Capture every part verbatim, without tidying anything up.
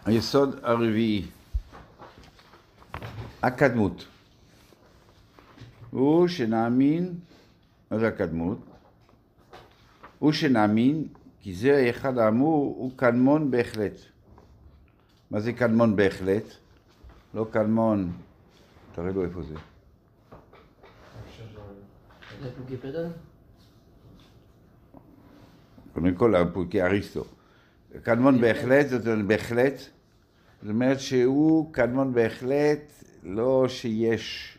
היסוד הרביעי, הקדמות. הוא שנאמין, מה זה הקדמות? הוא שנאמין, כי זה אחד האמור, הוא קדמון בהחלט. מה זה קדמון בהחלט? לא קדמון, תראה לו איפה זה. זה פוקי פדל? קודם כל, פוקי אריסטו. קדמון בהחלט, זאת אומרת בהחלט, זאת אומרת שהוא קדמון בהחלט, לא שיש,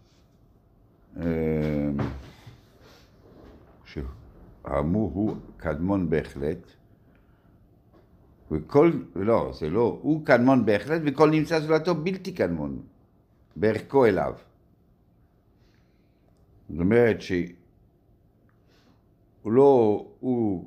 שהאמור הוא קדמון בהחלט, וכל, לא, זה לא, הוא קדמון בהחלט, וכל נמצא זולתו בלתי קדמון, בערכו אליו. זאת אומרת שהוא לא, הוא,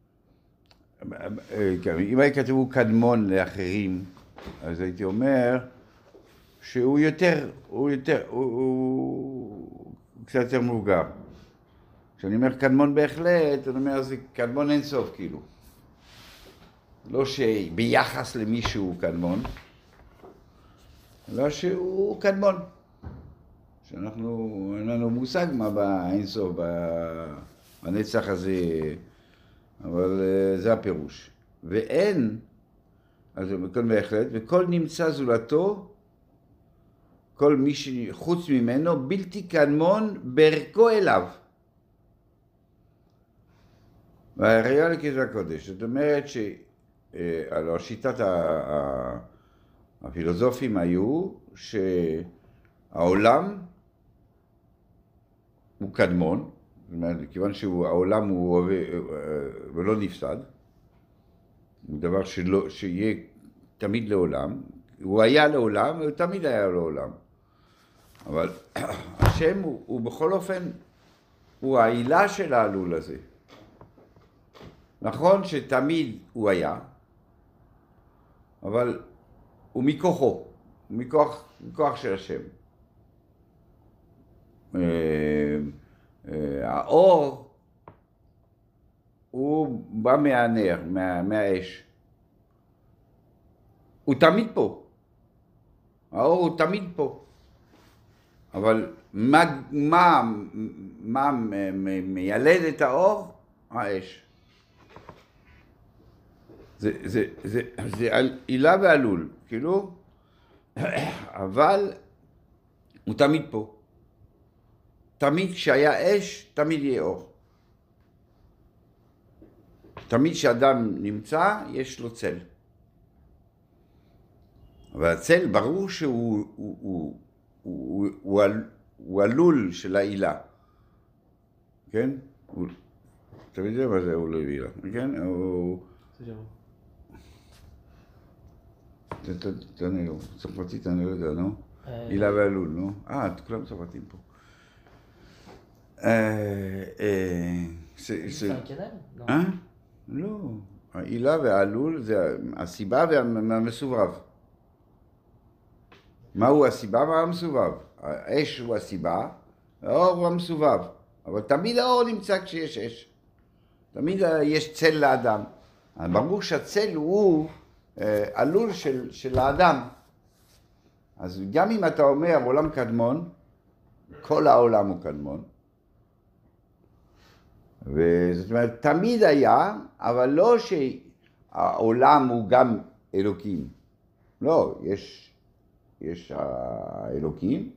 אם היה כתוב הוא קדמון לאחרים, אז הייתי אומר שהוא יותר, הוא יותר, הוא, הוא קצת יותר מבוגר. כשאני אומר קדמון בהחלט, אני אומר זה קדמון אינסוף כאילו. לא שביחס למישהו קדמון, אלא שהוא קדמון. שאנחנו, אין לנו מושג מה באינסוף, בנצח הזה, אבל זה הפירוש. ואין, אז כל בהחלט, וכל נמצא זולתו, כל מי שחוץ ממנו, בלתי קדמון בערכו אליו. והראייה לכתבי הקודש, זאת אומרת שעל שיטת הפילוסופים היו שהעולם הוא קדמון, זאת אומרת, כיוון שהעולם הוא ולא נפסד, הוא דבר שלא, שיהיה תמיד לעולם, הוא היה לעולם, הוא תמיד היה לעולם. אבל השם הוא, הוא בכל אופן, הוא העילה של העלול הזה. נכון שתמיד הוא היה, אבל הוא מכוחו, הוא מכוח, מכוח של השם. האור הוא בא מהנר, מה, מהאש. הוא תמיד פה. האור הוא תמיד פה. אבל מה, מה, מה מיילד את האור? האש. זה, זה, זה, זה עילה ועלול, כאילו, אבל הוא תמיד פה. תמיד כשהיה אש, תמיד יהיה אור. תמיד כשאדם נמצא, יש לו צל. אבל הצל, ברור שהוא הוא, הוא, הוא, הוא, הוא עלול של העילה. כן? הוא, אתה יודע מה זה הוא לא עילה, כן? הוא... תענה לו, צרפתית אני לא יודע, נו? עילה ועלול, נו? אה, כולם צרפתים פה. זה כדאי? אה? לא. העילה והעלול זה הסיבה והמסובב. מהו הסיבה והמסובב? האש הוא הסיבה, האור הוא המסובב. אבל תמיד האור נמצא כשיש אש. תמיד יש צל לאדם. ברור שהצל הוא עלול של, של האדם. אז גם אם אתה אומר עולם קדמון, כל העולם הוא קדמון. וזאת אומרת, תמיד היה, אבל לא שהעולם הוא גם אלוקים. לא, יש, יש האלוקים,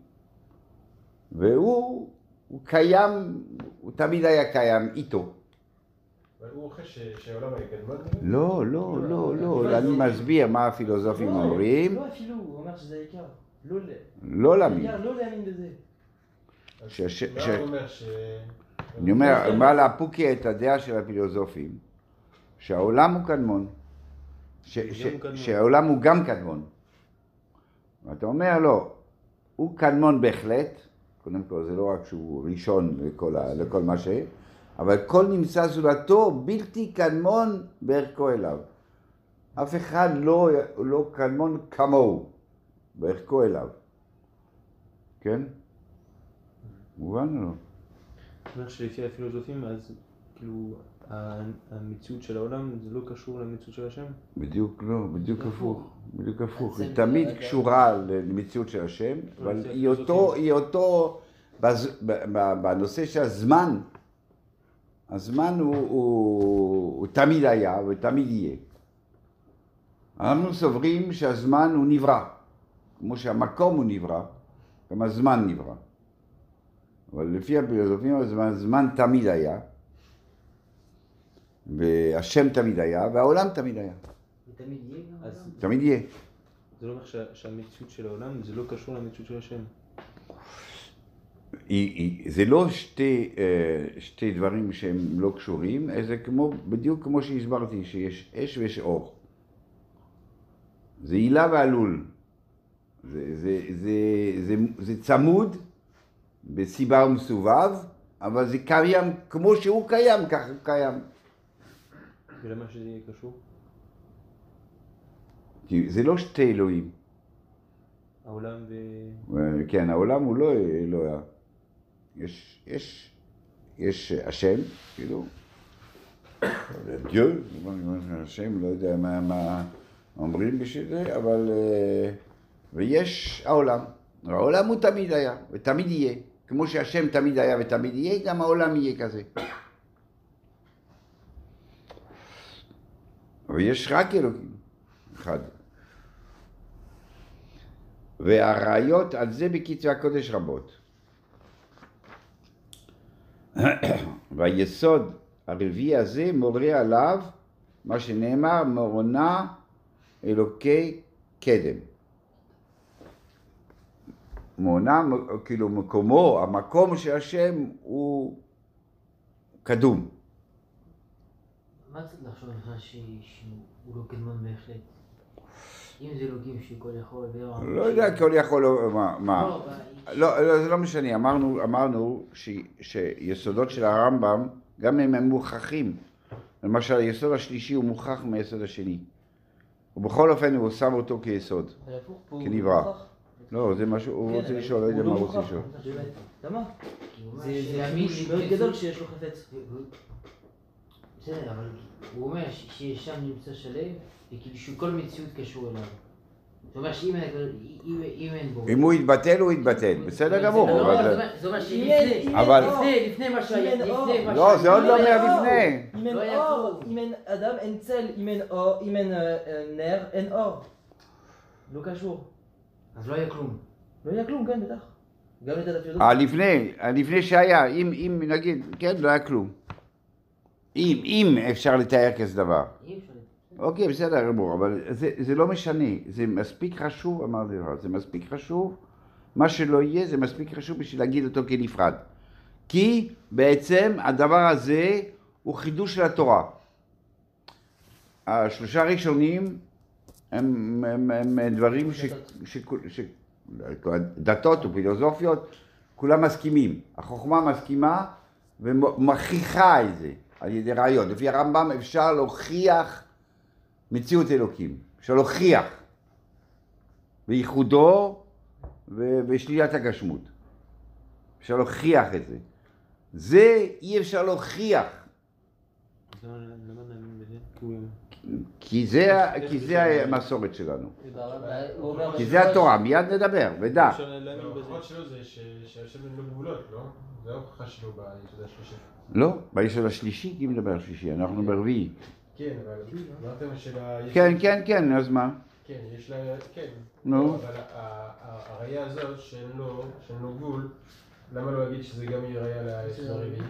והוא הוא קיים, הוא תמיד היה קיים איתו. הוא אחרי שהעולם היה קדמון? לא, לא, לא, לא, אני מסביר מה הפילוסופים אומרים. לא אפילו, הוא אומר שזה העיקר. לא להאמין. לא להאמין בזה. מה הוא אומר ש... אני אומר, מה להפוקי את הדעה של הפילוסופים, שהעולם הוא קדמון, שהעולם הוא גם קדמון. ואתה אומר, לא, הוא קדמון בהחלט, קודם כל זה לא רק שהוא ראשון לכל, לכל מה ש... אבל כל נמצא זולתו בלתי קדמון בערכו אליו. אף אחד לא, לא קדמון כמוהו, בערכו אליו. כן? מובן או לא? זאת אומרת שלפי הפילוסופים, אז כאילו המציאות של העולם זה לא קשור למציאות של השם? בדיוק לא, בדיוק הפוך. בדיוק הפוך. זה היא תמיד זה- קשורה למציאות של השם, אבל זה היא אותו, היא אותו, בז- ב- ב- בנושא של הזמן, הזמן הוא, הוא, הוא תמיד היה ותמיד יהיה. אנחנו סוברים שהזמן הוא נברא, כמו שהמקום הוא נברא, גם הזמן נברא. אבל לפי הפילוסופים הזמן, הזמן תמיד היה, והשם תמיד היה, והעולם תמיד היה. זה תמיד יהיה גם אז העולם? תמיד יהיה. זה לא אומר שה- שהמציאות של העולם זה לא קשור למציאות של השם. היא, היא, זה לא שתי, אה, שתי דברים שהם לא קשורים, זה כמו, בדיוק כמו שהסברתי, שיש אש ויש אור. זה הילה ועלול. זה, זה, זה, זה, זה צמוד בסיבה ומסובב, אבל זה קיים כמו שהוא קיים, ככה הוא קיים. ולמה שזה יהיה קשור? כי זה לא שתי אלוהים. העולם ו... כן, העולם הוא לא אלוה. יש, יש, יש השם, כאילו, דיו, השם, לא יודע מה, מה אומרים בשביל זה, אבל, ויש העולם. העולם הוא תמיד היה, ותמיד יהיה. כמו שהשם תמיד היה ותמיד יהיה, גם העולם יהיה כזה. ויש רק אלוקים, אחד. והראיות על זה בכתבי הקודש רבות. והיסוד הרביעי הזה מורה עליו מה שנאמר מורנה אלוקי קדם. מורנה, כאילו מקומו, המקום של השם הוא קדום. מה צריך לחשוב לך שהוא לא קדמון בהחלט? אם זה אלוקים שהוא כל יכול... לא יודע, כל יכול... מה? מה? לא, לא, לא, זה לא משנה. אמרנו, אמרנו ש, שיסודות של הרמב"ם, גם אם הם מוכחים. למשל, היסוד השלישי הוא מוכח מהיסוד השני. ובכל אופן הוא שם אותו כיסוד. זה הפוך פה. כנברא. מוכח. לא, זה משהו, הוא כן, רוצה אבל לשאול, לא יודע הוא מה לא הוא רוצה מוכח. לשאול. באמת. למה? כי הוא אומר זה ש- זה חידוש מאוד גדול שיש לו חפץ. בסדר, אבל הוא אומר ש- שיש שם נמצא שלם, וכאילו שכל מציאות קשור אליו. זאת אומרת שאם אין- אם- אם אין בו... אם הוא יתבטל, הוא יתבטל. בסדר גמור. זה לא- אבל- זה אומר- זה אומר אם אין- שלפני, אם אבל- אין אור, לפני, לפני מה שהיה, אם אין אור. לפני מה לא, זה עוד שהיה. לא אם אין אומר אור, לפני. אם אין לא היה אור, כלום. אם אין אדם, אין צל, אם אין אור, אם אין אה, אה, נר, אין אור. לא קשור. אז לא היה כלום. לא היה כלום, כן, בטח. גם לדעת הפילוסופיה. אה, לפני, לפני שהיה, אם, אם נגיד, כן, לא היה כלום. אם, אם אפשר לתאר כזה דבר. אי אפשר. אוקיי, בסדר גמור, אבל זה, זה לא משנה, זה מספיק חשוב, אמרתי לך, זה מספיק חשוב, מה שלא יהיה זה מספיק חשוב בשביל להגיד אותו כנפרד. כי בעצם הדבר הזה הוא חידוש של התורה. השלושה הראשונים הם, הם, הם, הם דברים ש, ש, ש, דתות ופילוסופיות, כולם מסכימים. החוכמה מסכימה ומכריחה את זה על ידי ראיות. לפי הרמב"ם אפשר להוכיח מציאות אלוקים, אפשר להוכיח בייחודו ובשלילת הגשמות. אפשר להוכיח את זה. זה אי אפשר להוכיח. אז למה למה נאמין בזה? כי הוא... כי זה, כי זה המסורת שלנו. הוא אומר- כי זה התורה, מיד נדבר, ודע. אפשר להאמין בזה. ההוכחות שלו זה ש- שהשם אין לו גבולות, לא? זה ההוכחה שלו ביסוד השלישי. לא, ביסוד השלישי, כי מדבר השלישי, אנחנו ברביעי. כן, אבל אמרתם של ה... כן, כן, כן, אז מה? כן, יש לה... כן. נו. אבל ה- ה- הראייה הזאת שאין לו שאין לו גבול, למה לא להגיד שזה גם יהיה ראייה ליסוד הרביעי?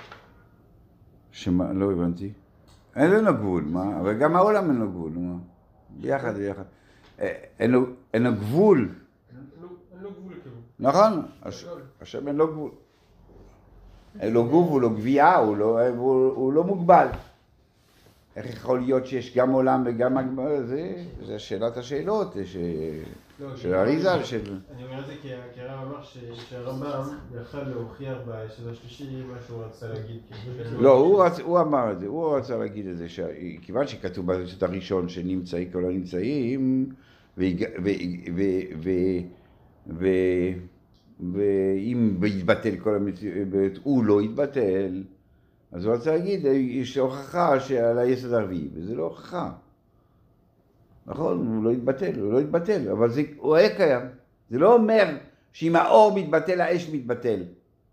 שמה, לא הבנתי. אין לנו גבול, מה? אבל גם העולם אין לו גבול, מה? ביחד, ביחד. אה, אין לו, אין לו גבול, אין לו- אין לו גבול כאילו. נכון? הש- השם אין לו גבול. אין לו גבול, הוא לא גבייה, הוא לא, הוא, הוא לא מוגבל. איך יכול להיות שיש גם עולם וגם הגבול? זה, זה שאלת השאלות, ש... לא, של כי- אריזה, של... אני אומר את זה כי כי הרב אמר ש- שהרמב"ם יכל להוכיח ביסוד השלישי מה שהוא רצה להגיד. כאילו. לא, הוא, רצ... הוא אמר את זה, הוא רצה להגיד את זה, שכיוון שכתוב ביסוד הראשון שנמצאים כל הנמצאים, והג... ו... ו... ו... ו... ואם יתבטל כל המציאות, הוא לא יתבטל, אז הוא רוצה להגיד, יש הוכחה שעל היסוד הרביעי, וזה לא הוכחה. נכון, הוא לא יתבטל, הוא לא יתבטל, אבל זה, הוא היה קיים. זה לא אומר שאם האור מתבטל, האש מתבטל.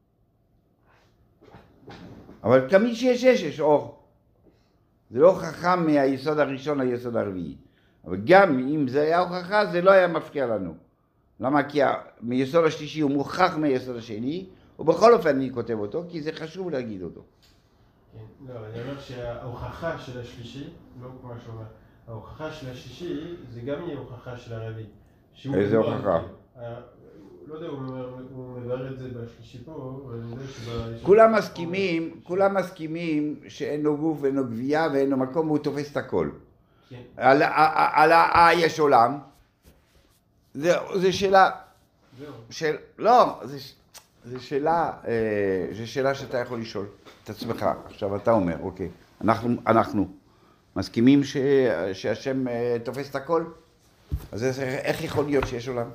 אבל תמיד שיש אש, יש אור. זה לא הוכחה מהיסוד הראשון ליסוד הרביעי. אבל גם אם זה היה הוכחה, זה לא היה מפריע לנו. למה? כי מיסוד השלישי הוא מוכח מהיסוד השני, ובכל אופן אני כותב אותו, כי זה חשוב להגיד אותו. כן, לא, אני אומר שההוכחה של השלישי, לא כמו שאומר, ההוכחה של השלישי זה גם יהיה הוכחה של הרביעי. איזה הוכחה? לא יודע, הוא מבאר את זה בשלישי פה, אבל אני יודע שב... כולם מסכימים, כולם מסכימים שאין לו גוף ואין לו גבייה ואין לו מקום, והוא תופס את הכל. כן. על ה... יש עולם. זה שאלה... זהו. לא, זה שאלה, זה שאלה שאתה יכול לשאול את עצמך. עכשיו אתה אומר, אוקיי, אנחנו, אנחנו מסכימים שהשם תופס את הכל? אז איך יכול להיות שיש עולם?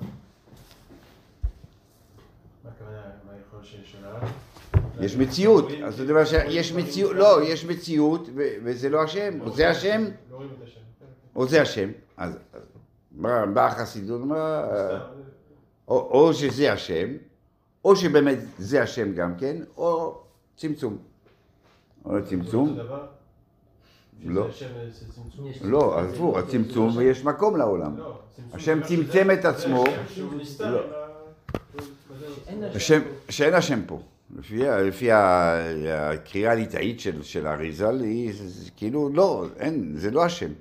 מה הכוונה, מה יכול שיש עולם? יש מציאות, אז זאת אומרת שיש מציאות, לא, יש מציאות וזה לא השם, או זה השם, לא רואים את השם. או זה השם, אז באה החסידות, או שזה השם, או שבאמת זה השם גם כן, או צמצום. או צמצום. לא. לא, עזבו, הצמצום ויש מקום לעולם. השם צמצם את עצמו. שאין השם פה. לפי הקריאה הליטאית של האריז"ל, כאילו לא, אין, זה לא השם.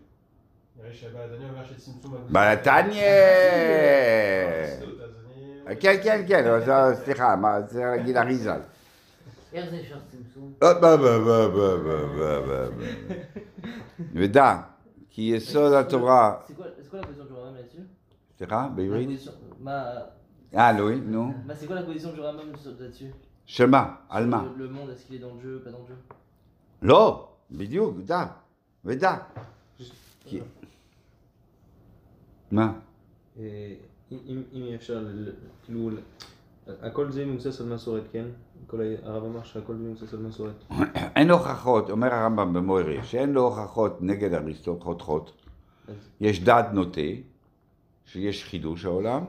בעתניה! כן, כן, כן, סליחה, מה, צריך להגיד אריז"ל. איך זה אפשר צמצום? ודע, כי יסוד התורה... C'est quoi la position du Rambam là-dessus? סליחה, בעברית? Ah, oui, non. Bah, c'est quoi la position du Rambam là-dessus? שמה? על מה? Le monde, est-ce qu'il est dans le jeu, pas dans le jeu? לא, בדיוק, דע, ודע. מה? אם אפשר, כאילו, הכל זה מבוסס על מסורת, כן? הרב אמר שהכל זה מבוסס על מסורת. אין הוכחות, אומר הרמב"ם במוירי, שאין לו הוכחות נגד אריסטו, חותכות. יש דעת נוטה, שיש חידוש העולם.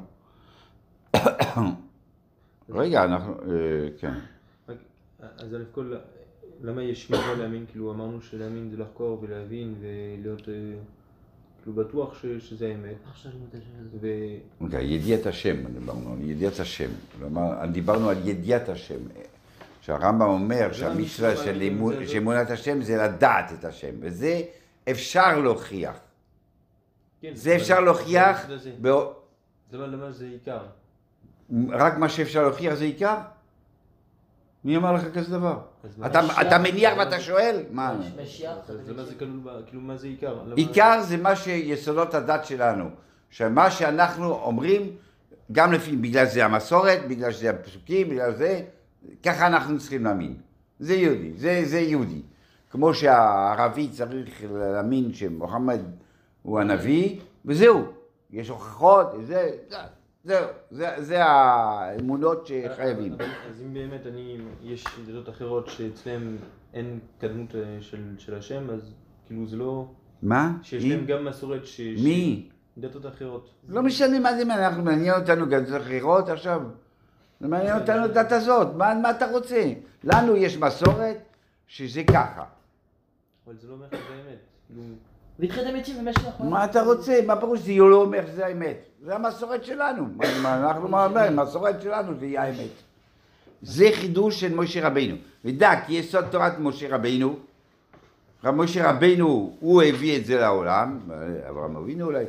רגע, אנחנו, כן. אז אלף כל, למה יש מצווה להאמין? כאילו אמרנו שלהאמין זה לחקור ולהבין ולהיות כאילו בטוח שזה האמת. אוקיי, ידיעת השם, דיברנו על ידיעת השם. דיברנו על ידיעת השם. שהרמב"ם אומר שהמצווה של אמונת השם זה לדעת את השם, וזה אפשר להוכיח. זה אפשר להוכיח. זה לא למה זה עיקר. רק מה שאפשר להוכיח זה עיקר? מי אמר לך כזה דבר? אתה מניח ואתה שואל? מה? כאילו מה זה עיקר? עיקר זה מה שיסודות הדת שלנו. שמה שאנחנו אומרים, גם לפי, בגלל זה המסורת, בגלל שזה הפסוקים, בגלל זה, ככה אנחנו צריכים להאמין. זה יהודי, זה יהודי. כמו שהערבי צריך להאמין שמוחמד הוא הנביא, וזהו. יש הוכחות, זה... זהו, זה, זה האמונות שחייבים. אז אם באמת אני, יש דתות אחרות שאצלם אין קדמות של, של השם, אז כאילו זה לא... מה? שיש להם גם מסורת ש... מי? דתות אחרות. לא משנה מה זה, אנחנו מעניין אותנו גם דתות אחרות עכשיו. זה מעניין אותנו דת הזאת, מה, מה אתה רוצה? לנו יש מסורת שזה ככה. אבל זה לא אומר שזה האמת. כאילו... והתחיל אמיתי ומשלח. מה אתה רוצה? מה פירוש זה לא אומר שזה האמת? זה המסורת שלנו. אנחנו אומרים, המסורת שלנו זה יהיה האמת. זה חידוש של משה רבינו. ודע, כי יסוד תורת משה רבינו, משה רבינו הוא הביא את זה לעולם, אברהם אבינו אולי,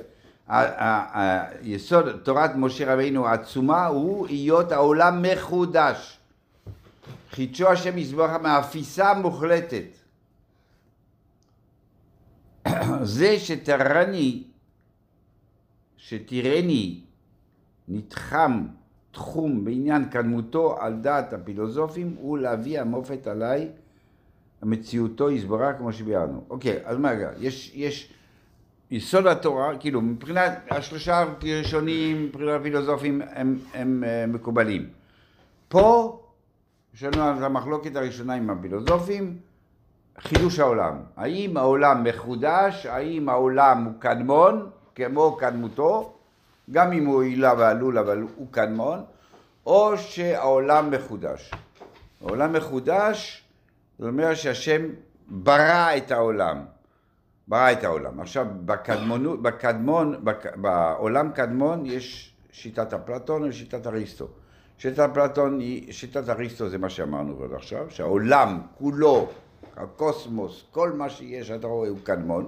יסוד תורת משה רבינו העצומה הוא היות העולם מחודש. חידשו השם יזבח מאפיסה מוחלטת. זה שתרני, שתראני נתחם תחום בעניין קדמותו על דעת הפילוסופים הוא להביא המופת עליי המציאותו יסברה כמו שביארנו. אוקיי, אז מה רגע? יש, יש יסוד התורה, כאילו מבחינת השלושה ראשונים, מבחינת הפילוסופים הם, הם, הם מקובלים. פה יש לנו את המחלוקת הראשונה עם הפילוסופים, חידוש העולם. האם העולם מחודש, האם העולם הוא קדמון, כמו קדמותו, גם אם הוא עילה ועלול, אבל הוא קדמון, או שהעולם מחודש. העולם מחודש, זאת אומרת שהשם ברא את העולם. ברא את העולם. עכשיו, בקדמון, בקדמון, בק, בעולם קדמון יש שיטת אפלטון ושיטת אריסטו. שיטת אפלטון היא, שיטת אריסטו זה מה שאמרנו עד עכשיו, שהעולם כולו, הקוסמוס, כל מה שיש, אתה רואה, הוא קדמון.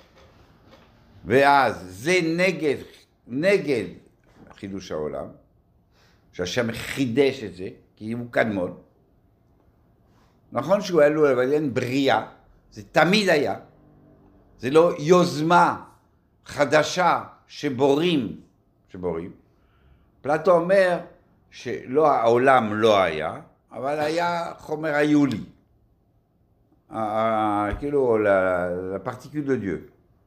ואז זה נגד, נגד חידוש העולם, שהשם חידש את זה, כי הוא קדמון. נכון שהוא עלול, אבל אין בריאה, זה תמיד היה. זה לא יוזמה חדשה שבורים, שבורים. פלטו אומר שלא, העולם לא היה, אבל היה חומר היולי. כאילו, לפרטיקול דה דיו.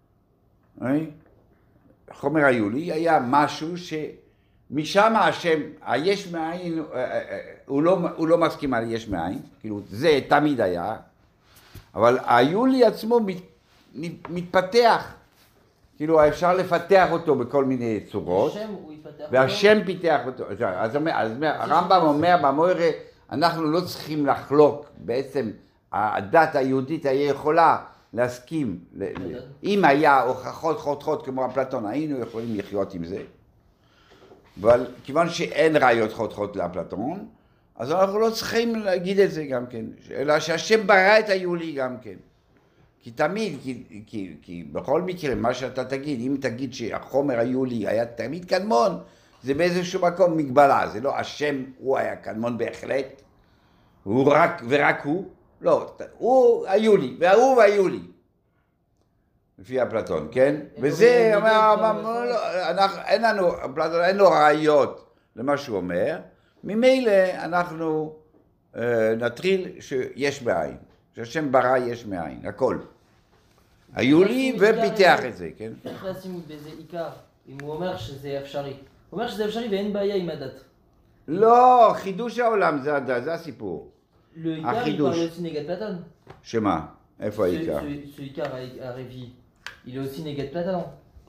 חומר היולי היה משהו שמשם השם, היש מאין, הוא לא, הוא לא מסכים על יש מאין, כאילו זה תמיד היה, אבל היולי עצמו מת, מתפתח, כאילו אפשר לפתח אותו בכל מיני צורות, השם הוא יתפתח והשם אותו. פיתח אותו, אז, אז הרמב"ם אומר במוירה, אנחנו לא צריכים לחלוק, בעצם הדת היהודית היה יכולה להסכים, אם היה הוכחות חותכות כמו אפלטון, היינו יכולים לחיות עם זה, אבל כיוון שאין ראיות חותכות לאפלטון, אז אנחנו לא צריכים להגיד את זה גם כן, אלא שהשם ברא את היולי גם כן. כי תמיד, כי, כי, כי בכל מקרה, מה שאתה תגיד, אם תגיד שהחומר היולי היה תמיד קדמון, זה באיזשהו מקום מגבלה, זה לא השם, הוא היה קדמון בהחלט, הוא רק ורק הוא, לא, הוא היולי, והוא והיולי. לפי אפלטון, כן? וזה, אין לנו, אפלטון אין לו ראיות למה שהוא אומר, ממילא אנחנו נטריל שיש מאין, שהשם ברא יש מאין, הכל. היולי ופיתח את זה, כן? איך לשים בזה עיקר, אם הוא אומר שזה אפשרי? הוא אומר שזה אפשרי ואין בעיה עם הדת. לא, חידוש העולם זה הדת, זה הסיפור. העיקר il parle aussi négat Platon. שמה? איפה העיקר? Ce עיקר הרביעי, il est aussi négat Platon.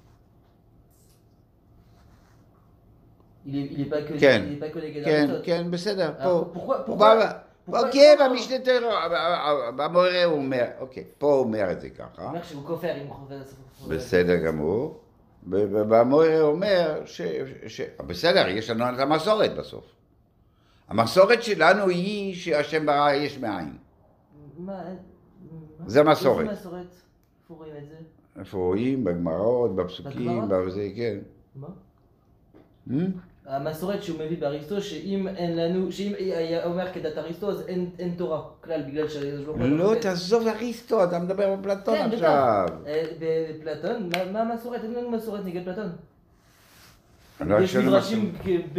Il est, il est pas que, כן, il est pas que négat כן, Aristote. כן, בסדר, Alors, פה. pourquoi, pourquoi, אוקיי, במשנה תורה, במורה הוא אומר, אוקיי, פה הוא אומר את זה ככה. הוא אומר שהוא כופר, אם הוא חופר... בסדר גמור. ובמורה הוא אומר ש... בסדר, יש לנו את המסורת בסוף. המסורת שלנו היא שהשם ברא יש מאין. מה? זה המסורת. איזה מסורת? איפה רואים את זה? איפה רואים? בגמרות, בפסוקים, בזה, כן. מה? המסורת שהוא מביא באריסטו, שאם אין לנו, שאם היה אומר כדת אריסטו, אז אין, אין תורה כלל, בגלל שיש לו... לא, תעזוב אריסטו, אתה מדבר בפלטון עכשיו. כן, בפלטון? מה המסורת? אין לנו מסורת נגד פלטון. יש מדרשים ב...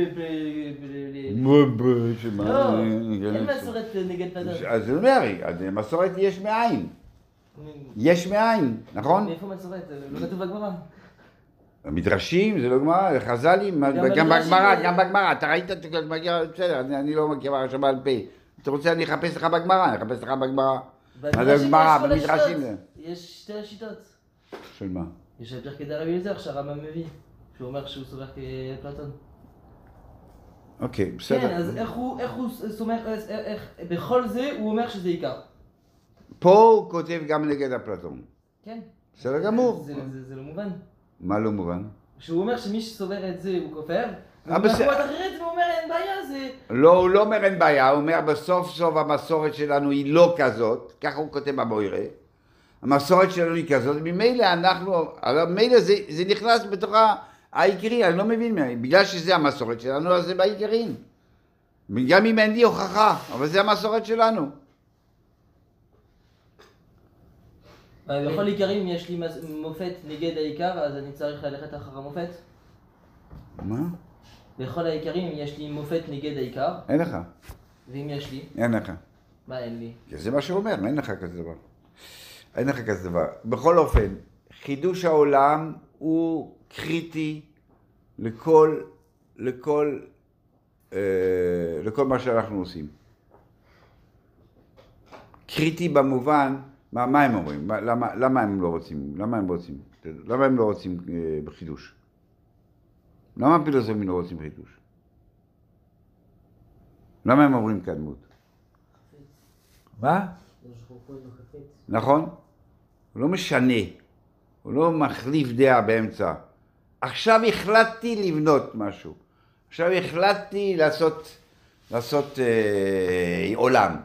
לא, אין מסורת נגד פלטון. אז הוא אומר, מסורת יש מאין. יש מאין, נכון? מאיפה מסורת? לא כתוב בגמרא. המדרשים, זה לא גמרא, חז"לים, גם בגמרא, גם בגמרא, אתה ראית את הגמרא, בסדר, אני לא מכיר עכשיו בעל פה. אתה רוצה, אני אחפש לך בגמרא, אני אחפש לך בגמרא. מה זה גמרא, במדרשים? יש שתי השיטות. של מה? יש את פרקי דרבי אליעזר שהרמב"ם מביא, שהוא אומר שהוא סובר כפלטון. אוקיי, בסדר. כן, אז איך הוא סומך, בכל זה הוא אומר שזה עיקר. פה הוא כותב גם נגד אפלטון. כן. בסדר גמור. זה לא מובן. מה לא מובן? שהוא אומר שמי שסובר את זה הוא כופר, ובמקומות אחרת הוא אומר אין בעיה, זה... לא, הוא לא אומר אין בעיה, הוא אומר בסוף סוף המסורת שלנו היא לא כזאת, ככה הוא כותב במוירה, המסורת שלנו היא כזאת, ממילא אנחנו, ממילא זה, זה נכנס בתוך העיקרי, אני לא מבין מה, בגלל שזה המסורת שלנו, אז זה בעיקרים. גם אם אין לי הוכחה, אבל זה המסורת שלנו. בכל עיקרים יש לי מופת נגד העיקר, אז אני צריך ללכת אחר המופת? מה? בכל העיקרים יש לי מופת נגד העיקר. אין לך. ואם יש לי? אין לך. מה אין לי? זה מה שהוא אומר, אין לך כזה דבר. אין לך כזה דבר. בכל אופן, חידוש העולם הוא קריטי לכל, לכל, אה, לכל מה שאנחנו עושים. קריטי במובן מה, מה הם אומרים? מה, למה, למה הם לא רוצים? למה הם רוצים? למה הם לא רוצים אה, בחידוש? למה הפילוסופים לא רוצים חידוש? למה הם אומרים קדמות? מה? נכון? הוא לא משנה, הוא לא מחליף דעה באמצע. עכשיו החלטתי לבנות משהו. עכשיו החלטתי לעשות, לעשות אה, עולם.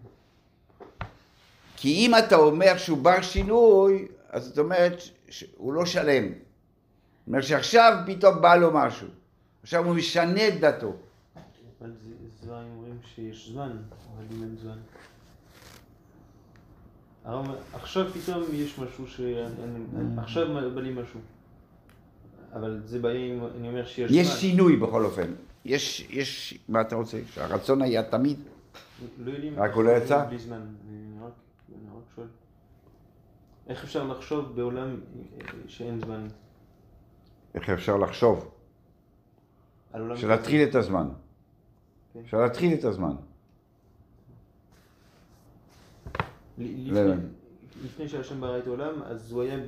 כי אם אתה אומר שהוא בר שינוי, אז זאת אומרת שהוא לא שלם. זאת אומרת שעכשיו פתאום בא לו משהו. עכשיו הוא משנה את דתו. אבל זה דברים אומרים שיש זמן, אבל אם אין זמן. עכשיו פתאום יש משהו ש... עכשיו בא לי משהו. אבל זה בעיה אם אני אומר שיש זמן. יש שינוי בכל אופן. יש, יש, מה אתה רוצה? שהרצון היה תמיד? לא יודעים. רק הוא לא יצא? בלי זמן. אני רק שואל. איך אפשר לחשוב בעולם שאין זמן? איך אפשר לחשוב? אפשר להתחיל את הזמן. אפשר להתחיל את הזמן. לפני שהשם ברא את העולם, אז הוא היה ב...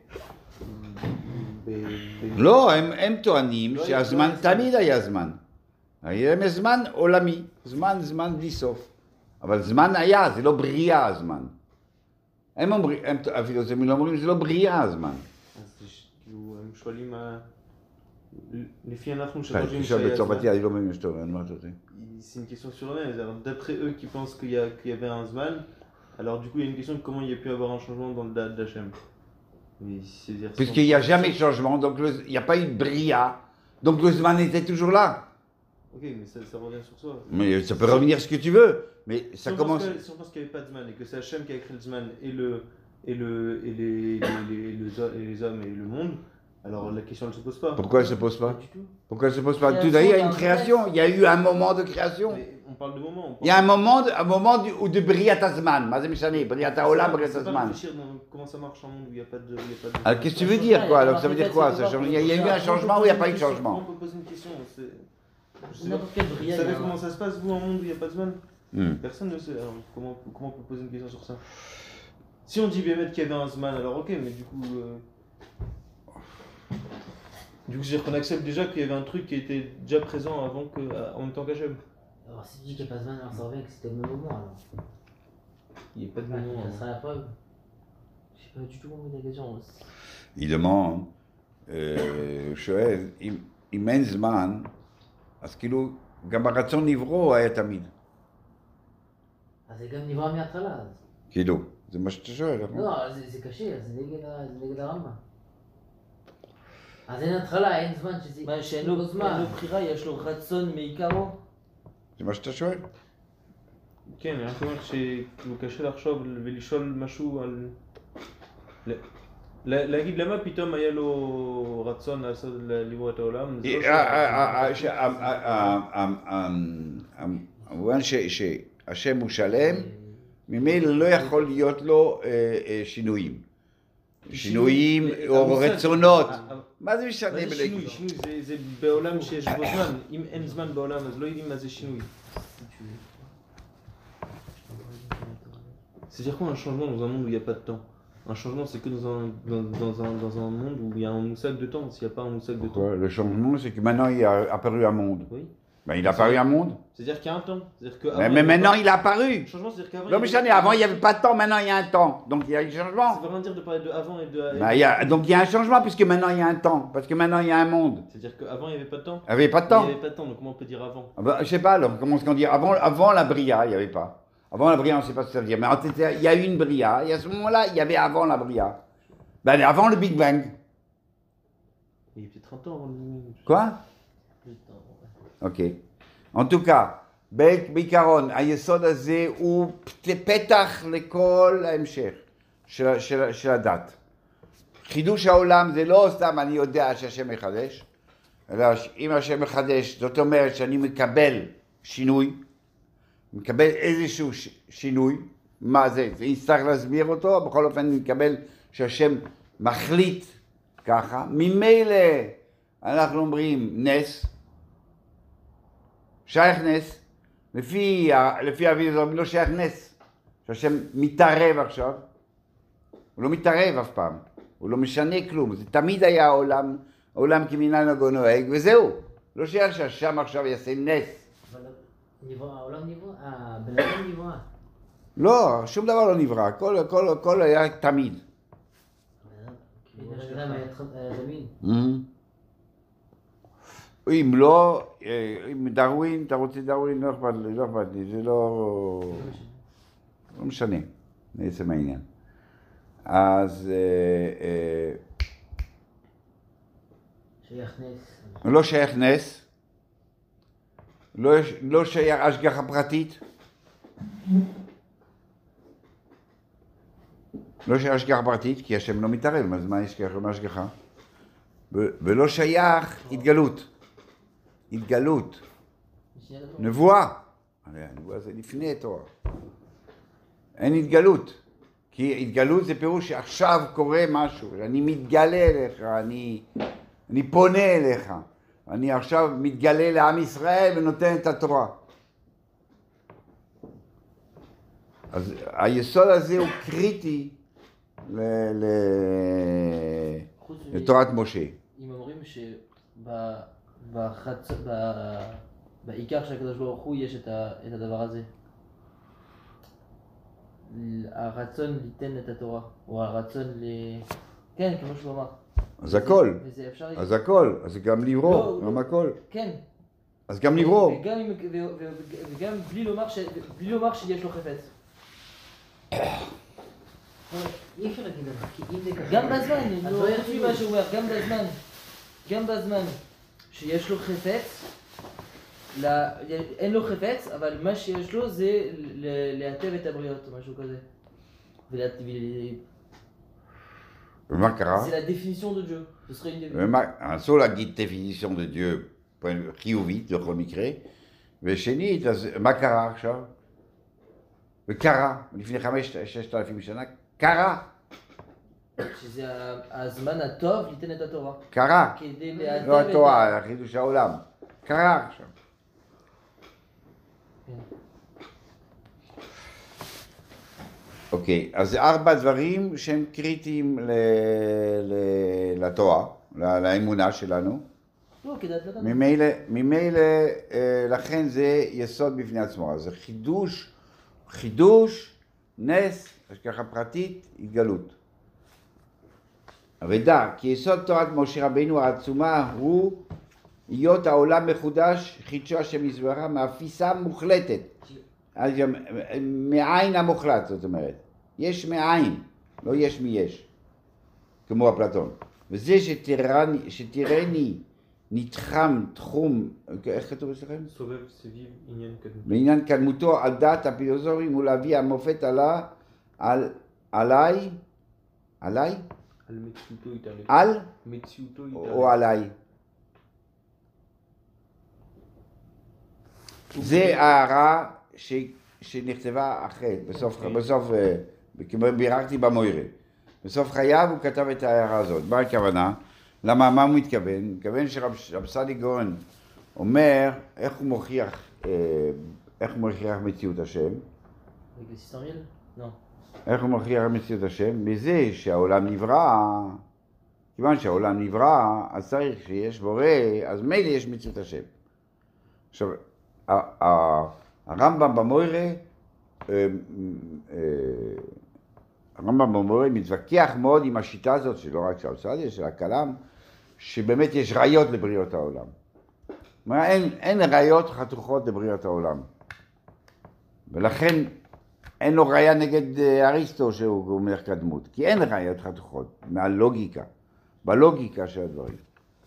לא, הם טוענים שהזמן תמיד היה זמן. היה להם זמן עולמי, זמן, זמן בלי סוף. אבל זמן היה, זה לא בריאה הזמן. הם אומרים, אפילו זה לא אומרים, זה לא בריאה הזמן. אז כאילו, הם שואלים מה... לפי אנחנו שחושבים שהיה זמן... אני לא מבין שאתה אומר, מה אתה רוצה? C'est une question sur eux-mêmes. D'après eux qui pensent qu'il y, qu'il y avait un Zman, alors du coup il y a une question de comment il y a pu avoir un changement dans le Da'at d'Hachem. Puisqu'il n'y a jamais de changement, donc le, il n'y a pas eu de bria, donc le Zman était toujours là. Ok, mais ça, ça revient sur soi. Mais ça peut revenir ce que tu veux, mais ça si commence... Si on pense qu'il n'y avait pas de Zman et que c'est Hachem qui a créé le Zman et, le, et, le, et, les, les, les, les, les hommes et le monde, alors la question ne se pose pas. Pourquoi elle ne se pose pas? Pas du tout. Pourquoi elle ne se pose pas? Tout d'ailleurs, il y a une création, il y a eu un moment de création. Mais on parle de moment. On parle il y a un moment, de, un moment de, de Briat Azman. Briat Haolam, Briat Azman. Comment ça marche en monde où il n'y a pas de... Il y a pas de... Alors qu'est-ce que tu veux dire quoi? Alors ça veut dire quoi? Il y a eu un changement ou il n'y a pas eu de changement? On peut poser une question. Vous savez comment ça se passe, vous, en monde où il n'y a pas de Zman? hmm. Personne ne sait. Alors, comment, comment on peut poser une question sur ça? Si on dit Bémet qu'il y avait un Zman, alors ok, mais du coup... Euh... Du coup, c'est-à-dire qu'on accepte déjà qu'il y avait un truc qui était déjà présent avant que, en même temps qu'Hachem. Alors si tu dis qu'il n'y a pas de Zman, alors ça revient que c'était au même moment alors. Il n'y a pas de bah, moment. Ça sera la preuve. Je sais pas du tout comment la question. Il demande, שואל, אם אין זמן, אז כאילו גם הרצון נברוא היה תמיד. אז זה גם נברא מההתחלה. כאילו, זה מה שאתה שואל, נכון? לא, זה קשה, זה נגד הרמב"ם. אז אין התחלה, אין זמן שזה... מה, שאין לו בחירה, יש לו רצון מעיקרו? זה מה שאתה שואל? כן, אני אומר שכאילו קשה לחשוב ולשאול משהו על... להגיד למה פתאום היה לו רצון לעשות לברוא את העולם? המובן שהשם הוא שלם, ממילא לא יכול להיות לו שינויים. שינויים או רצונות. מה זה משנה? מה זה שינוי? שינוי זה בעולם שיש בו זמן. אם אין זמן בעולם אז לא יודעים מה זה שינוי. C'est-à-dire quoi un changement dans un monde où il n'y a pas de temps? Un changement c'est que dans un, dans, dans, un, dans un monde où il y a un moussac de temps. S'il n'y a pas un moussac de temps. Le changement c'est que maintenant il a apparu un monde. Oui. Ben, il a apparu un monde. C'est-à-dire qu'il y a un temps. Que mais mais maintenant il a apparu. Le changement c'est-à-dire qu'avant. Non mais j'en ai, avant il n'y avait pas de temps, maintenant il y a un temps. Donc il y a un changement. Ça veut rien dire de parler de avant et de... Ben, il y a, donc il y a un changement puisque maintenant il y a un temps. Parce que maintenant il y a un monde. C'est-à-dire qu'avant il n'y avait pas de temps. Il n'y avait pas de temps. Il n'y avait pas de temps, donc comment on peut dire avant? Ah ben, je sais pas alors, comment est-ce qu'on dit? Avant, avant la Bria, il n'y avait pas. Avant la Bria, on ne sait pas ce que ça veut dire. Mais en fait, il y a eu une Bria. Et à ce moment-là, il y avait avant la Bria. Ben, avant le Big Bang. Il y a peut-être trente ans avant le Big Bang. Quoi? Ok. En tout cas, בעיקרון, היסוד הזה הוא פתח לכל ההמשך של, של, של הדת. חידוש העולם זה לא סתם אני יודע שהשם מחדש, אלא אם השם מחדש, זאת אומרת שאני מקבל שינוי, מקבל איזשהו שינוי, מה זה? זה יצטרך להסביר אותו, בכל אופן אני מקבל שהשם מחליט ככה, ממילא אנחנו אומרים נס, שייך נס, לפי, לפי אבי זו לא שייך נס, שהשם מתערב עכשיו, הוא לא מתערב אף פעם, הוא לא משנה כלום, זה תמיד היה העולם, העולם כמנהגו נוהג, וזהו. לא שייך שהשם עכשיו יעשה נס. אבל נברא, העולם נברא, הבן אדם נברא. לא, שום דבר לא נברא, הכל, הכל, הכל היה תמיד. הבן אדם היה תמיד. אם לא, אם דרווין, אתה רוצה דרווין, לא אכפת לי, לא אכפת לי, זה לא... לא משנה, בעצם העניין. אז... שייך נס. לא שייך נס, לא שייך השגחה פרטית, לא שייך השגחה פרטית, כי השם לא מתערב, אז מה יש ככה, מה השגחה? ולא שייך התגלות. התגלות, נבואה, הנבואה זה לפני התורה, אין התגלות, כי התגלות זה פירוש שעכשיו קורה משהו, אני מתגלה אליך, אני, אני פונה אליך, אני עכשיו מתגלה לעם ישראל ונותן את התורה. אז היסוד הזה הוא קריטי ל, ל, לתורת משה. אם אומרים שב... בחצ... ב... בעיקר של הקדוש ברוך הוא יש את, ה... את הדבר הזה. הרצון ליתן את התורה, או הרצון ל... כן, כמו שהוא אמר. אז הכל, וזה אפשר... אז הכל, אז גם לברוא, לא, גם לא. הכל. כן. אז גם לברוא. וגם, ו... ו... וגם בלי לומר, ש... בלי לומר שיש לו חפץ. אי אפשר להגיד לך, כי אם זה ככה... גם בזמן, אז לא לא יחשבי מה שהוא אומר, גם בזמן. גם בזמן. שיש לו חפץ, לה, אין לו חפץ, אבל מה שיש לו זה להטב את הבריות או משהו כזה. ומה קרה? זה la définition de Dieu. Ce serait une ומה, אסור להגיד définition de Dieu חיובית בכל מקרה, ושנית, אז מה קרה עכשיו? וקרה, לפני חמש, ששת אלפים שנה, קרה. שזה הזמן הטוב ליתן את התורה. קרה. כדי להטב לא את התורה, חידוש העולם. קרה עכשיו. אוקיי, אז ארבע דברים שהם קריטיים לתורה, לאמונה שלנו. לא, כדאי לדעת. ממילא, לכן זה יסוד בפני עצמו. אז זה חידוש, חידוש, נס, השגחה פרטית, התגלות. ודע, כי יסוד תורת משה רבינו העצומה הוא להיות העולם מחודש, חידשו השם יזברה, מאפיסה מוחלטת. אז מעין המוחלט, זאת אומרת. יש מעין, לא יש מיש, כמו אפלטון. וזה שתראני, שתראני נתחם תחום, איך כתוב אצלכם? סובב סביב עניין קדמותו. בעניין קדמותו על דעת הפילוסופים ולהביא המופת עלה, על, עליי, עליי? על מציאותו איתנו. על? מציאותו איתנו. או עליי. זה הערה ש, שנכתבה אחרי, בסוף, okay. בסוף, כמו ביררתי במוירה. בסוף חייו הוא כתב את ההערה הזאת. מה הכוונה? למה, מה הוא מתכוון? הוא מתכוון שרב סעדי גאון אומר איך הוא מוכיח, איך הוא מוכיח מציאות השם. לא. איך הוא מוכיח מציאות השם? בזה שהעולם נברא, כיוון שהעולם נברא, אז צריך שיש בורא, אז מילא יש מציאות השם. עכשיו, הרמב"ם במוירה, הרמב"ם במוירה מתווכח מאוד עם השיטה הזאת, שלא רק של רב סעדיה, של הכלם, שבאמת יש ראיות לבריאות העולם. אין, אין ראיות חתוכות לבריאות העולם. ולכן אין לו ראיה נגד אריסטו שהוא מלך קדמות, כי אין ראיות חתוכות מהלוגיקה, בלוגיקה של הדברים.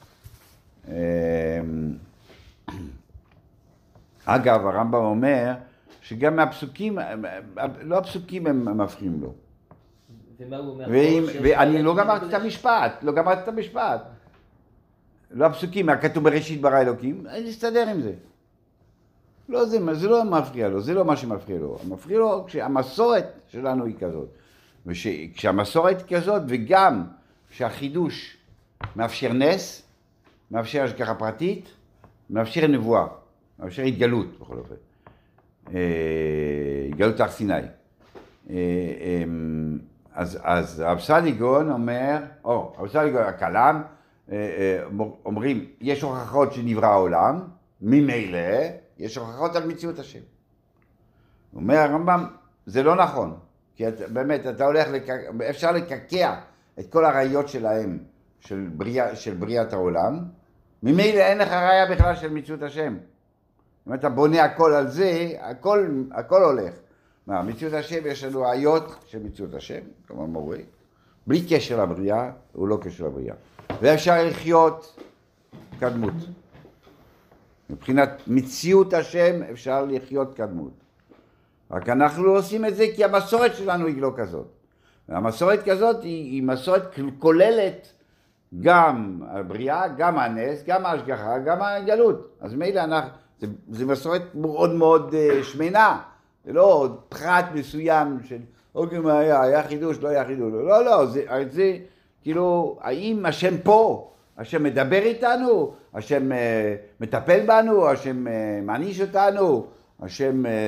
אגב, הרמב"ם אומר שגם מהפסוקים, לא הפסוקים הם מפריעים לו. ומה הוא אומר? ואני לא גמרתי את המשפט, לא גמרתי את המשפט. לא הפסוקים, מה כתוב בראשית ברא אלוקים, אני אסתדר עם זה. לא, זה, זה לא מפריע לו, זה לא מה שמפריע לו. מפריע לו כשהמסורת שלנו היא כזאת. וכשהמסורת היא כזאת, וגם כשהחידוש מאפשר נס, מאפשר השגחה פרטית, מאפשר נבואה, מאפשר התגלות, בכל אופן. התגלות הר סיני. אז, אז רב סליגון אומר, או, רב סליגון הכלם, אומרים, יש הוכחות שנברא העולם, ממילא יש הוכחות על מציאות השם. אומר הרמב"ם, זה לא נכון, כי את, באמת אתה הולך, לק... אפשר לקקע את כל הראיות שלהם, של, בריאה, של בריאת העולם, ממילא אין לך ראיה בכלל של מציאות השם. אם אתה בונה הכל על זה, הכל, הכל הולך. מה, מציאות השם יש לנו ראיות של מציאות השם, כמו מורה, בלי קשר לבריאה, הוא לא קשר לבריאה. ואפשר לחיות קדמות. מבחינת מציאות השם אפשר לחיות קדמות. רק אנחנו לא עושים את זה כי המסורת שלנו היא לא כזאת. המסורת כזאת היא, היא מסורת כוללת גם הבריאה, גם הנס, גם ההשגחה, גם הגלות. אז מילא אנחנו, זה, זה מסורת מאוד מאוד uh, שמנה. זה לא פרט מסוים של, אוקיי, מה היה, היה חידוש, לא היה חידוש. לא, לא, זה, זה כאילו, האם השם פה, השם מדבר איתנו, השם uh, מטפל בנו, השם uh, מעניש אותנו, השם... Uh,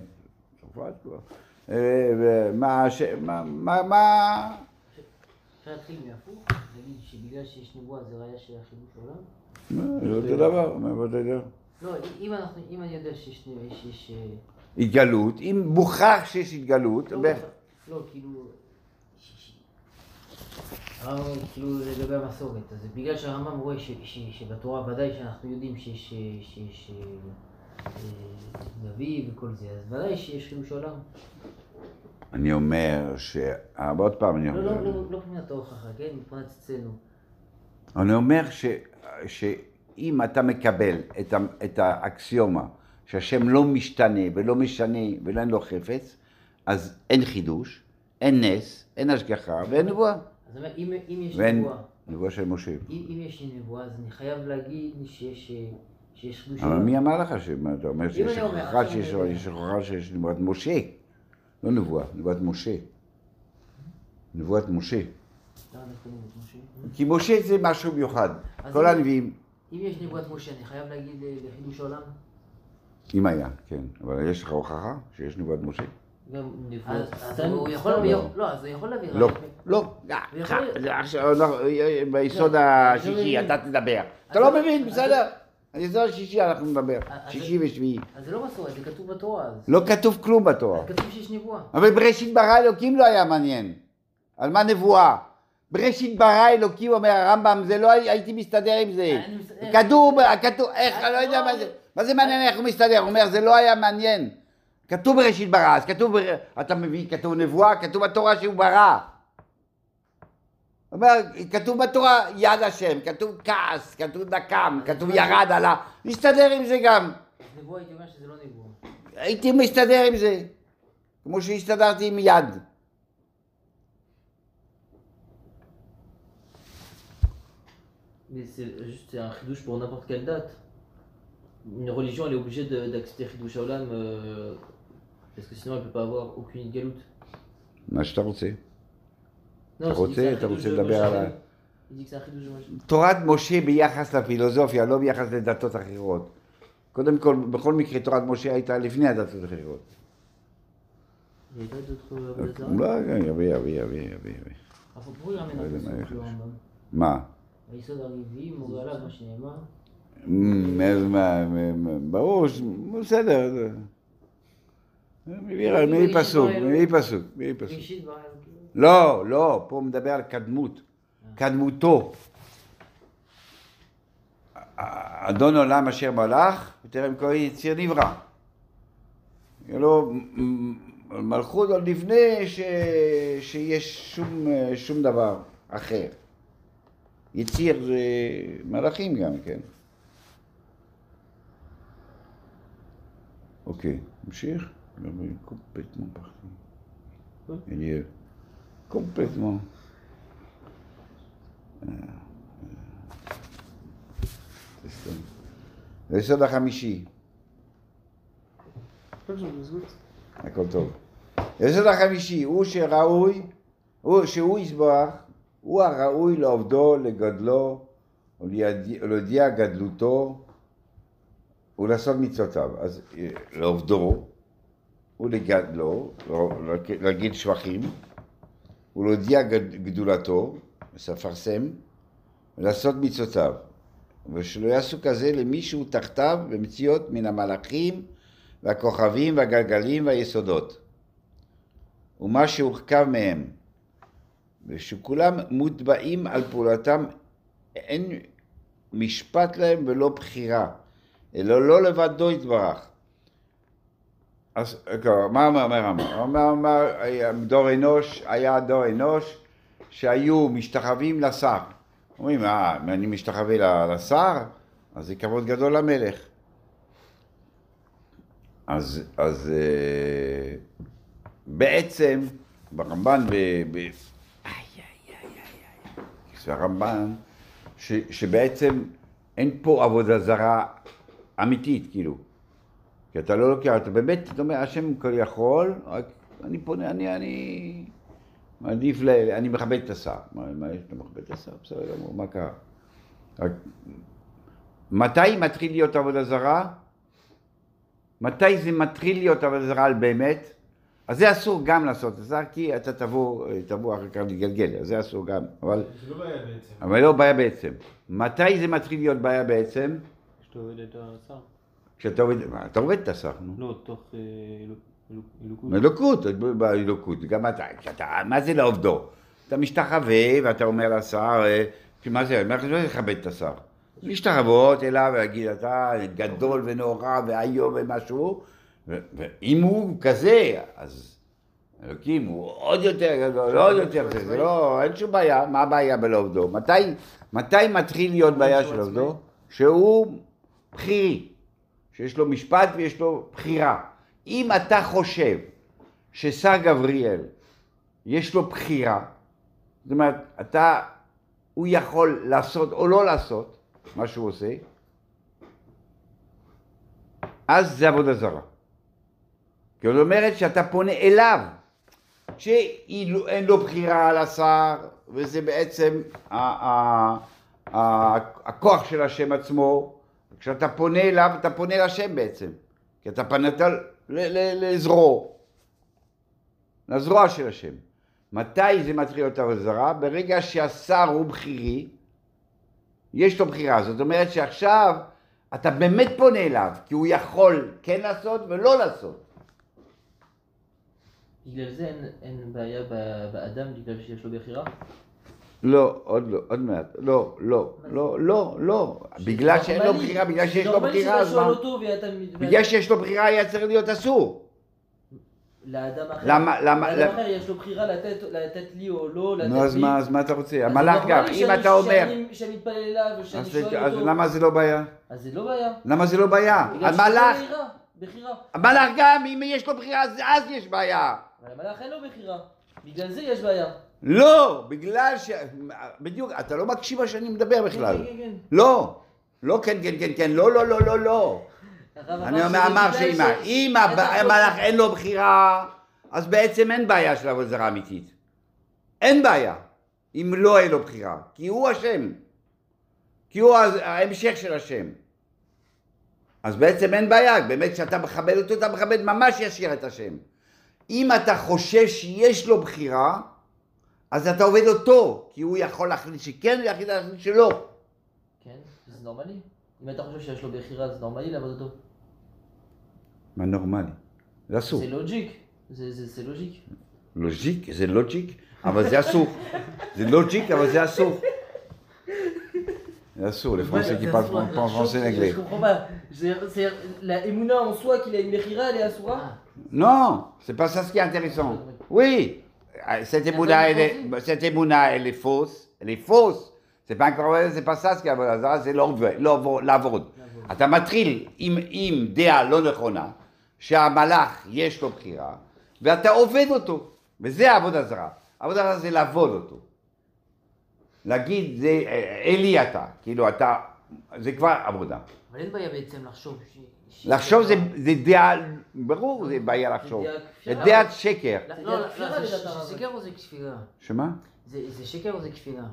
מה, מה, מה, מה... אפשר להתחיל מהפוך, להגיד שבגלל שיש נבואה זה ראיה של החידוש העולם? זה אותו דבר, מה אתה יודע? לא, אם אני יודע שיש... התגלות, אם מוכח שיש התגלות... לא, כאילו... הרמב"ם כאילו לגבי המסורת, אז בגלל שהרמב"ם רואה שבתורה ודאי שאנחנו יודעים שיש נביא וכל זה, אז ודאי שיש חידוש עולם. אני אומר ש... עוד פעם אני אומר... לא, לא, לא מבחינת ההוכחה, כן? מבחינת אצלנו. אני אומר ש... שאם אתה מקבל את, ה... את האקסיומה שהשם לא משתנה ולא משנה ואין לו חפץ, אז אין חידוש, אין נס, אין השגחה ואין נבואה. אז אומר, אם, אם יש ואין... נבואה... נבואה של משה. אם, אם יש נבואה, אז אני חייב להגיד שיש... שיש חידוש אבל עולם. מי אמר לך שמה? אתה אומר שיש הוכחה שיש הוכחה שיש נבואת משה. לא נבואה, נבואת משה. נבואת משה. כי משה זה משהו מיוחד. כל הנביאים... אם יש נבואת משה, אני חייב להגיד לחידוש העולם? אם היה, כן. אבל יש לך הוכחה שיש נבואת משה? גם אז נבואת... הוא יכול... לא, אז הוא יכול להביא... לא, לא. ביסוד השישי אתה תדבר. אתה לא מבין, בסדר. ביסוד השישי אנחנו נדבר. שישי ושביעי. אז זה לא מסורת, זה כתוב בתורה. לא כתוב כלום בתורה. כתוב שיש נבואה. אבל בראשית ברא אלוקים לא היה מעניין. על מה נבואה? בראשית ברא אלוקים, אומר הרמב"ם, זה לא הייתי מסתדר עם זה. כתוב, כתוב, איך, אני לא יודע מה זה. מה זה מעניין איך הוא מסתדר? הוא אומר, זה לא היה מעניין. כתוב בראשית ברא, אז כתוב, אתה מבין, כתוב נבואה, כתוב בתורה שהוא ברא. אומר, כתוב בתורה יד השם, כתוב כעס, כתוב נקם, כתוב ירד עלה. מסתדר עם זה גם. נבואה הייתי אומר שזה לא נבואה. הייתי מסתדר עם זה. כמו שהסתדרתי עם יד. Mais c'est juste un chidouche pour n'importe quelle date. Une religion, elle est obligée de- d'accepter chidouche Olam euh, parce que sinon elle peut pas avoir aucune galoute. מה שאתה רוצה. Non, אתה je dis que c'est רוצה, un אתה chidouche רוצה de לדבר Moshe על ה... Rabbeinu. Il dit que c'est un chidouche de Moshe. תורת משה ביחס לפילוסופיה, לא ביחס לדתות אחרות. קודם כל, בכל מקרה, תורת משה הייתה לפני הדתות האחרות. Il y a pas d'autres euh, לא, יביא, יביא, יביא, יביא. אבל פה יאמן לא יודע מה הפסוק, יש. לא הרמב"ם. מה? היסוד הרביעי מורה עליו מה שנאמר. מ- מה, מ- מ- ברור, ש- בסדר. זה- מביא ר- מביא פסוק, מביא פסוק, מביא פסוק. ראשית ברא אלוקים. לא, לא, פה הוא מדבר על קדמות, קדמותו. אדון עולם אשר מלך, בטרם כל יציר נברא. לא, מלכות עוד לפני ש... שיש שום, שום דבר אחר. יציר זה מלאכים גם, כן? אוקיי, נמשיך. קומפלטמון פחתי. אליאל. קומפלטמון. היסוד החמישי. הכל טוב. היסוד החמישי הוא שראוי, הוא שהוא יסבח, הוא הראוי לעובדו, לגדלו, ולהודיע גדלותו, ולעשות מצוותיו. אז לעובדו, ולגדלו, להגיד שבחים, ולהודיע גדולתו, לפרסם, ולעשות מצוותיו. ושלא יעשו כזה למישהו תחתיו במציאות מן המלאכים והכוכבים והגלגלים והיסודות. ומה שהורכב מהם. ושכולם מוטבעים על פעולתם, אין משפט להם ולא בחירה, אלא לא לבדו יתברך. אז מה אומר אמר? אומר אמר, דור אנוש, היה דור אנוש שהיו משתחווים לשר. אומרים, אה, אם אני משתחווה לשר, אז זה כבוד גדול למלך. אז, אז בעצם, ברמב"ן, ב... ב... איי, איי, איי, איי, איי, הרמב"ן, ש, שבעצם אין פה עבודה זרה אמיתית, כאילו. כי אתה לא לוקח, אתה באמת, אתה אומר, השם כל יכול, רק אני פונה, אני, אני, מעדיף, ל, אני מכבד את השר. מה, מה יש אתה מכבד את השר? בסדר גמור, מה קרה? רק, מתי מתחיל להיות עבודה זרה? מתי זה מתחיל להיות עבודה זרה על באמת? אז זה אסור גם לעשות את זה, כי אתה תבוא, תבוא אחר כך לגלגל, אז זה אסור גם, אבל... זה לא בעיה בעצם. אבל לא בעיה בעצם. מתי זה מתחיל להיות בעיה בעצם? כשאתה עובד את השר. כשאתה עובד, אתה עובד את השר, נו. לא, תוך אלוקות. אלוקות, באלוקות, גם אתה, כשאתה, מה זה לעובדו? אתה משתחווה ואתה אומר לשר, מה זה, מה זה לכבד את השר? להשתחוות אליו ולהגיד, אתה גדול ונורא ואיום ומשהו, ואם הוא כזה, אז אלוקים הוא עוד יותר גדול, עוד יותר, זה לא, אין שום בעיה, מה הבעיה בלעובדו? מתי, מתי מתחיל להיות בעיה של עובדו? שהוא בחירי, שיש לו משפט ויש לו בחירה. אם אתה חושב ששר גבריאל יש לו בחירה, זאת אומרת, אתה, הוא יכול לעשות או לא לעשות מה שהוא עושה, אז זה עבודה זרה. כי זאת אומרת שאתה פונה אליו, שאין לו בחירה על השר, וזה בעצם הכוח של השם עצמו. כשאתה פונה אליו, אתה פונה לשם בעצם. כי אתה פנית לזרוע, לזרוע של השם. מתי זה מתחיל להיות עבודה זרה? ברגע שהשר הוא בחירי, יש לו בחירה. זאת אומרת שעכשיו אתה באמת פונה אליו, כי הוא יכול כן לעשות ולא לעשות. בגלל זה אין, אין בעיה באדם בגלל שיש לו בחירה? לא, עוד לא, עוד מעט. לא, לא, לא, לא, לא. בגלל שאין לו בחירה, בגלל שיש לו בחירה, אז מה? בגלל שיש לו בחירה היה צריך להיות אסור. לאדם אחר, למה, למה, לאדם אחר יש לו בחירה לתת, לתת לי או לא, לתת לי. נו, אז מה, אז מה אתה רוצה? המלאך גם, אם אתה אומר... שאני מתפלל אליו ושאני שואל אותו... אז למה זה לא בעיה? אז זה לא בעיה. למה זה לא בעיה? המלאך... בחירה. המלאך גם, אם יש לו בחירה, אז יש בעיה. אבל המלאך אין לו בחירה. בגלל זה יש בעיה. לא, בגלל ש... בדיוק, אתה לא מקשיב מה שאני מדבר בכלל. כן, כן, כן. לא. לא, כן, כן, כן, כן, לא, לא, לא, לא, לא. אני אומר, אמר שאם המלאך אין לו בחירה, אז בעצם אין בעיה של עבודה זרה אמיתית. אין בעיה, אם לא אין לו בחירה. כי הוא השם. כי הוא ההמשך של השם. אז בעצם אין בעיה, באמת כשאתה מכבד אותו, אתה מכבד ממש ישיר את השם. אם אתה חושב שיש לו בחירה, אז אתה עובד אותו, כי הוא יכול להחליט שכן, הוא יכול להחליט שלא. כן, זה נורמלי. אם אתה חושב שיש לו בחירה, זה נורמלי לעבוד אותו. מה נורמלי? זה אסור. זה לוג'יק. זה, זה, זה לוג'יק. לוג'יק? זה לוג'יק, אבל זה אסור. זה לוג'יק, אבל זה אסור. C'est sûr, les Français qui parlent pas français et anglais. Je comprends pas. C'est la émouna en soi qu'il a une mechira, elle est assoura? Non, c'est pas ça ce qui est intéressant. Oui, cette émouna, elle est, cette émouna, elle est fausse. Elle est fausse. C'est pas encore, c'est pas ça ce qui est עבודה, c'est לעבוד. אתה מתחיל עם, עם דעה לא נכונה, שהמלאך יש לו בחירה, ואתה עובד אותו, וזה העבודה זרה. העבודה זרה זה לעבוד אותו. להגיד, זה אלי אתה, כאילו אתה, זה כבר עבודה. אבל אין בעיה בעצם לחשוב ש... לחשוב זה, זה דעה, ברור זה בעיה לחשוב. זה דעת שקר. לא, לא, זה שקר או זה כפירה? שמה? זה שקר או זה כפירה?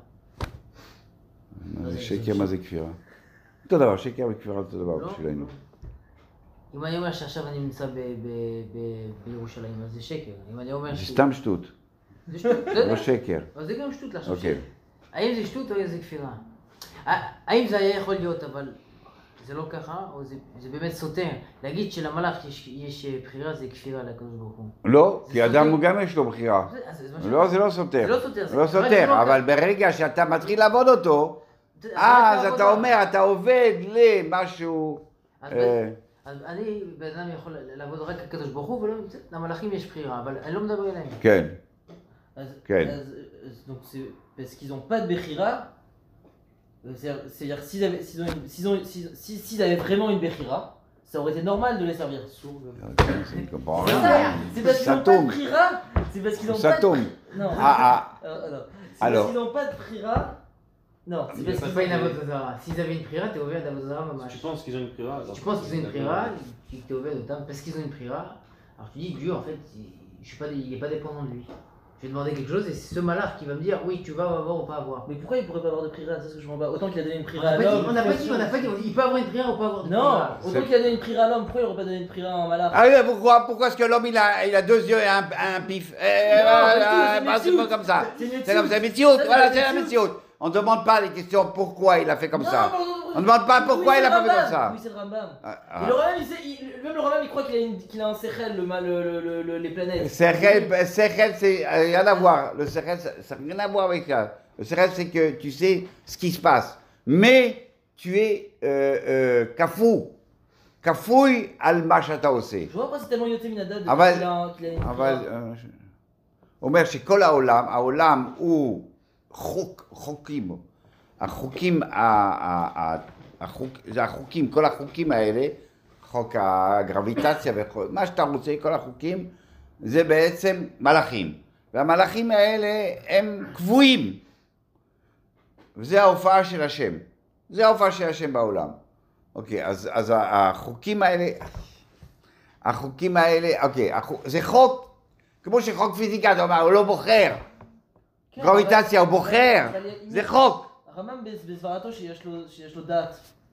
זה שקר, מה זה כפירה? אותו דבר, שקר וכפירה אותו דבר בשבילנו. אם אני אומר שעכשיו אני נמצא בירושלים, אז זה שקר. אם אני אומר זה סתם שטות. זה שטות, לא שקר. אבל זה גם שטות לחשוב. אוקיי. האם זה שטות או זה כפירה? האם זה היה יכול להיות, אבל זה לא ככה, או זה, זה באמת סותר? להגיד שלמלאך יש, יש בחירה זה כפירה לקדוש ברוך הוא. לא, כי סותר? אדם הוא גם יש לו בחירה. זה, אז, זה לא, זה לא סותר. זה לא סותר. זה לא סותר, אבל ברגע שאתה מתחיל לעבוד אותו, אז אתה אומר, אתה עובד למשהו... אז, אה, אז אני, בן אדם יכול לעבוד רק לקדוש ברוך הוא, ולא, למלאכים יש בחירה, אבל אני לא מדבר אליהם. כן, אז- כן. אז- אז- donc c'est parce qu'ils n'ont pas de Bechira. C'est-à-dire c'est-à-dire s'ils avaient, s'ils ont une- s'ils ont- s'ils- si- s'ils avaient vraiment une Bechira, ça aurait été normal de les servir. je ne comprends C'est rien. ça, c'est parce qu'ils Ça n'ont pas de tombe. Bechira. C'est parce qu'ils n'ont Ça pas de- tombe. Non. Ah, ah, Euh, non. C'est Alors. parce qu'ils n'ont pas de Bechira. Non, c'est parce C'est qu'ils pas une ont- avodazara. S'ils avaient une prière, t'es ouvert d'avodazara, maman. Tu penses qu'ils ont une prière alors Tu penses qu'ils ont une prière, tu dis que t'es ouvert de temps parce qu'ils ont une prière. Alors tu dis Dieu en fait, il- je suis pas, il est pas dépendant de lui. Je vais demander quelque chose et c'est ce malach qui va me dire oui tu vas avoir ou pas avoir. Mais pourquoi il pourrait pas avoir de Bechira? C'est ce que je comprends pas. Autant qu'il a donné une On Bechira n'a à pas dit, l'homme. on n'a pas dit, on n'a pas dit, on dit, il peut avoir une prière ou pas avoir de Non, prière. autant qu'il a donné une Bechira à l'homme, pourquoi il aurait pas donné une Bechira en malach? Ah oui, pourquoi, pourquoi est-ce que l'homme il a, il a deux yeux et un, un pif eh, Non, voilà, mais tout, c'est bah, c'est Metsiout. pas comme ça. C'est une C'est comme ça, Metsiout. Metsiout, Ça, c'est voilà, la c'est la Metsiout. Metsiout. On ne demande pas les questions pourquoi il a fait comme Non, ça. non, non, non, On ne demande pas oui, pourquoi c'est il a le pas fait comme Rambam. ça. Oui, c'est le Rambam. Ah, Et le Rambam, il sait, il- même le Rambam, il croit qu'il a, une- qu'il a un Sechel, le, ma- le, le, le, le- les planètes. Sechel, Sechel, c'est euh, rien à voir. Le Sechel, ça n'a rien à voir avec ça. Le Sechel, c'est que tu sais ce qui se passe. Mais tu es euh, euh, kafou. Kafouille al machata aussi. Je vois pas, c'est tellement Yoté Minadad Ah bah, qu'il a, qu'il a une אבל Bechira. אה, ש- אומר שכל העולם, העולם הוא חוק, חוקים, החוקים, ה- ה- ה- החוק, זה החוקים, כל החוקים האלה, חוק הגרביטציה וכל, מה שאתה רוצה, כל החוקים, זה בעצם מלאכים. והמלאכים האלה הם קבועים. וזה ההופעה של השם. זה ההופעה של השם בעולם. אוקיי, אז, אז החוקים האלה, החוקים האלה, אוקיי, החוק, זה חוק, כמו שחוק פיזיקה, אתה אומר, הוא לא בוחר. כן, גרביטציה, הוא אבל- בוחר. אבל- זה חוק. הרמב"ם בסברתו שיש לו- שיש לו דעת.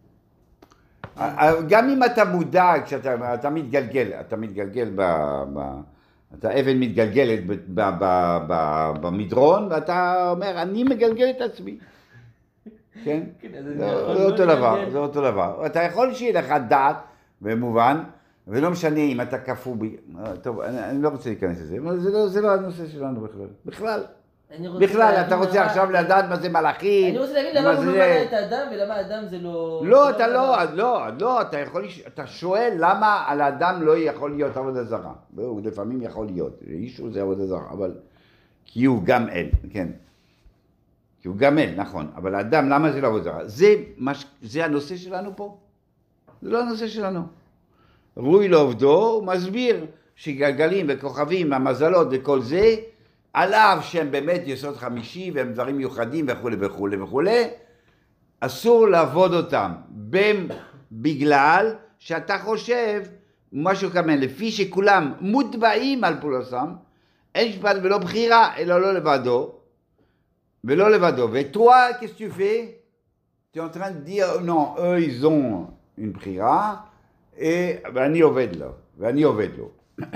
גם אם אתה מודע, כשאתה אתה מתגלגל, אתה מתגלגל ב... ב אתה אבן מתגלגלת ב, ב, ב, ב, במדרון, ואתה אומר, אני מגלגל את עצמי. כן? כן, אז זה אני יכול זה לא אותו דבר, לגלגל. זה אותו דבר. אתה יכול שיהיה לך דעת, במובן, ולא משנה אם אתה קפוא ב... טוב, אני, אני לא רוצה להיכנס לזה, אבל זה לא, זה לא הנושא שלנו בכלל. בכלל. אני רוצה בכלל, להבין אתה רוצה למה- עכשיו לדעת מה זה מלאכים, אני רוצה להבין מה למה הוא לא זה- מנע את האדם ולמה האדם זה לא... לא, זה אתה לא, הדבר. לא, לא, אתה יכול, לש- אתה שואל למה על האדם לא יכול להיות עבודה זרה. הוא לפעמים יכול להיות, אישו זה עבודה זרה, אבל כי הוא גם אל, כן. כי הוא גם אל, נכון, אבל האדם, למה זה לא עבודה זרה? זה, מש... זה הנושא שלנו פה? זה לא הנושא שלנו. רוי לעובדו, הוא מסביר שגלגלים וכוכבים, המזלות וכל זה, עליו שהם באמת יסוד חמישי והם דברים מיוחדים וכו' וכו' וכו', אסור לעבוד אותם, בין, בגלל שאתה חושב משהו כמן, לפי שכולם מוטבעים על פעולתם, אין משפט ולא בחירה, אלא לא לבדו, ולא לבדו. וטוע, qu'est-ce que tu fais? Tu es en train de dire, non, eux ils ont une בחירה, ואני עובד לו, ואני עובד לו.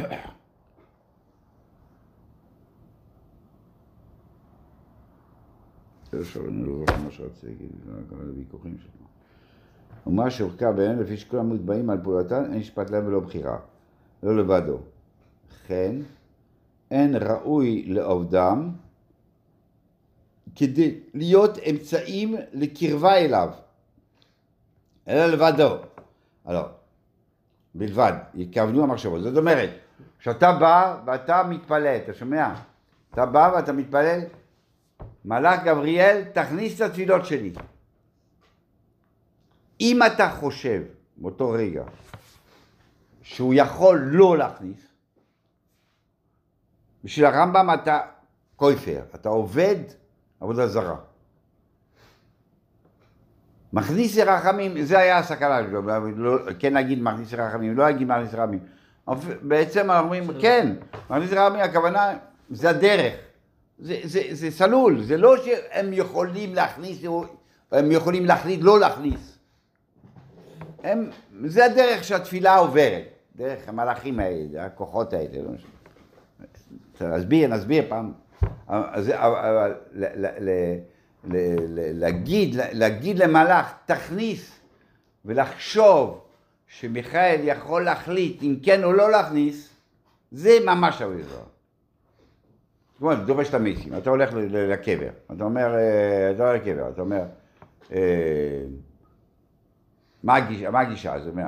עכשיו אני לא זוכר מה שרציתי להגיד, זה היה כל הוויכוחים שלנו. ומה שהורכב בהם, לפי שכולם מוטבעים על פעולתן, אין משפט להם ולא בחירה, לא לבדו. כן, אין ראוי לעובדם, כדי להיות אמצעים לקרבה אליו, אלא לבדו. alors, בלבד, יכוונו המחשבות. זאת אומרת, כשאתה בא ואתה מתפלל, אתה שומע? אתה בא ואתה מתפלל, מלאך גבריאל, תכניס את התפילות שלי. אם אתה חושב באותו רגע שהוא יכול לא להכניס, בשביל הרמב"ם אתה כופר, אתה עובד עבודה זרה. מכניס רחמים, זה היה הסכנה שלו, לא, כן להגיד מכניס רחמים, לא להגיד מכניס רחמים. בעצם אנחנו אומרים, כן, מכניס רחמים, הכוונה, זה הדרך. זה, זה, זה סלול, זה לא שהם יכולים להכניס, הם יכולים להחליט לא להכניס. הם, זה הדרך שהתפילה עוברת, דרך המלאכים האלה, הכוחות האלה. לא נסביר, נסביר פעם, אז אבל להגיד, להגיד למלאך, תכניס, ולחשוב שמיכאל יכול להחליט אם כן או לא להכניס, זה ממש עבודה זרה. כמו, דורש את המתים, אתה הולך לקבר, אתה אומר, אתה הולך לקבר, אתה אומר, מה הגישה? זאת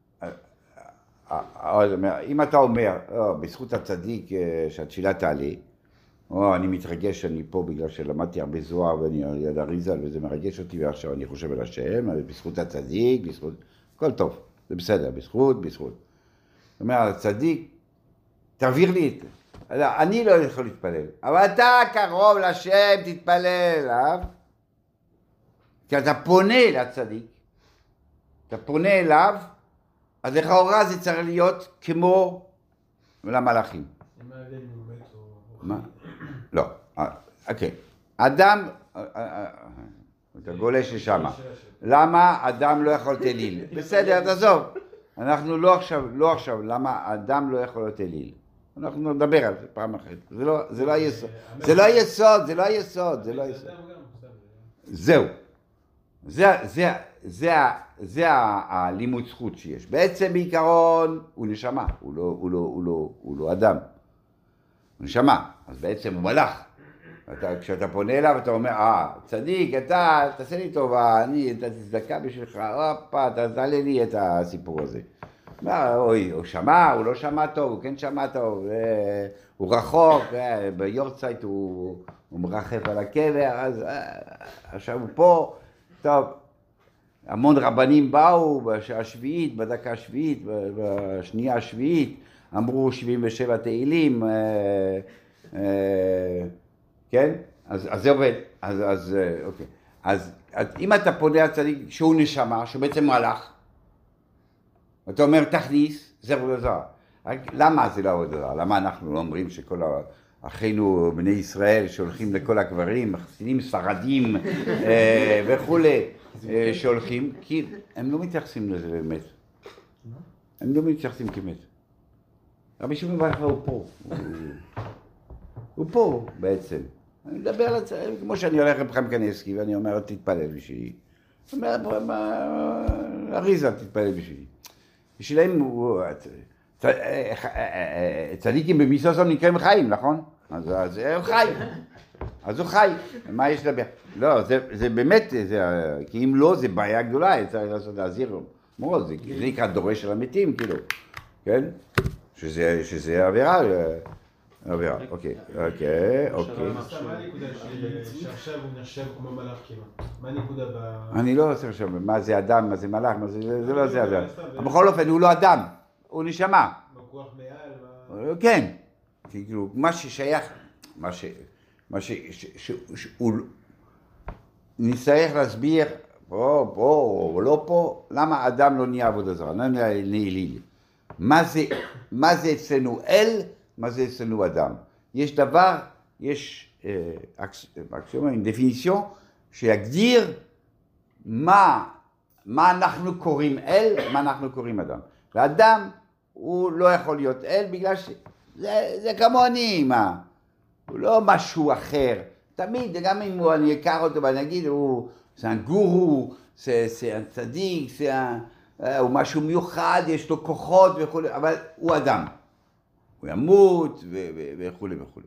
אומרת, אם אתה אומר, בזכות הצדיק שהתפילה תעלה, או אני מתרגש שאני פה בגלל שלמדתי הרבה זוהר ואני על אריזל וזה מרגש אותי ועכשיו אני חושב על השם, בזכות הצדיק, בזכות, הכל טוב, זה בסדר, בזכות, בזכות. זאת אומרת, הצדיק, תעביר לי את זה. אני לא יכול להתפלל, אבל אתה קרוב לשם, תתפלל אליו, כי אתה פונה לצדיק, אתה פונה אליו, אז לכאורה זה צריך להיות כמו למלאכים. מה ההבדל אם הוא מת או... מה? לא, אוקיי. אדם, אתה גולש לשם. למה אדם לא יכול להיות אליל? בסדר, תעזוב. אנחנו לא עכשיו, לא עכשיו, למה אדם לא יכול להיות אליל? אנחנו נדבר על זה פעם אחרת. זה לא היסוד. זה לא היסוד, זה לא היסוד, זה לא היסוד. זהו. זה הלימוד זכות שיש. בעצם בעיקרון הוא נשמה, הוא לא אדם. הוא נשמה, אז בעצם הוא מלאך. כשאתה פונה אליו אתה אומר, אה, צדיק, אתה, תעשה לי טובה, אני, אתה תצדקה בשבילך, הופה, תעלה לי את הסיפור הזה. אוי, הוא שמע, הוא לא שמע טוב, הוא כן שמע טוב, הוא רחוק, ביורצייט הוא מרחף על הקבר, אז עכשיו הוא פה, טוב, המון רבנים באו בשעה השביעית, בדקה השביעית, בשנייה השביעית, אמרו שבעים ושבע תהילים, כן? אז זה עובד, אז אוקיי. אז אם אתה פונה לצדיק שהוא נשמה, שהוא בעצם מלאך, אתה אומר תכניס, זה עבודה זרה. למה זה לא עבודה זרה? למה אנחנו לא אומרים שכל אחינו בני ישראל שהולכים לכל הקברים, חסידים ספרדים וכולי, שהולכים, כי הם לא מתייחסים לזה באמת. הם לא מתייחסים כמת. רבי שמעון בר יוחאי הוא פה. הוא פה בעצם. אני מדבר על זה, כמו שאני הולך לבחם קנסקי ואני אומר, תתפלל בשבילי. הוא אומר, אריזה, תתפלל בשבילי. בשבילם הוא... צדיקים במיסוסון נקראים חיים, נכון? אז הוא חי. אז הוא חי. מה יש לדבר? לא, זה באמת, כי אם לא, זה בעיה גדולה, צריך לעשות להזהיר מאוד, זה נקרא דורש של המתים, כאילו. כן? שזה עבירה. עבירה, אוקיי, אוקיי, אוקיי. מה הנקודה שעכשיו הוא נחשב כמו מלאך כאילו? מה הנקודה ב... אני לא רוצה עכשיו, מה זה אדם, מה זה מלאך, זה לא זה אדם. אבל בכל אופן, הוא לא אדם, הוא נשמה. בכוח מעל? כן, כאילו, מה ששייך, מה ש... מה ש... שהוא... נצטרך להסביר, פה, פה, או לא פה, למה אדם לא נהיה עבודה זרה, לא נהיה אליל. מה זה, מה זה אצלנו אל, מה זה אצלנו אדם. יש דבר, יש אקסיומה, דפיניציון, שיגדיר מה, מה אנחנו קוראים אל, מה אנחנו קוראים אדם. ואדם הוא לא יכול להיות אל בגלל שזה זה כמוני, מה? הוא לא משהו אחר. תמיד, גם אם הוא, אני אקר אותו ואני אגיד, הוא, זה גורו, זה, זה צדיק, זה, הוא משהו מיוחד, יש לו כוחות וכו', אבל הוא אדם. הוא ימות וכו' וכו'.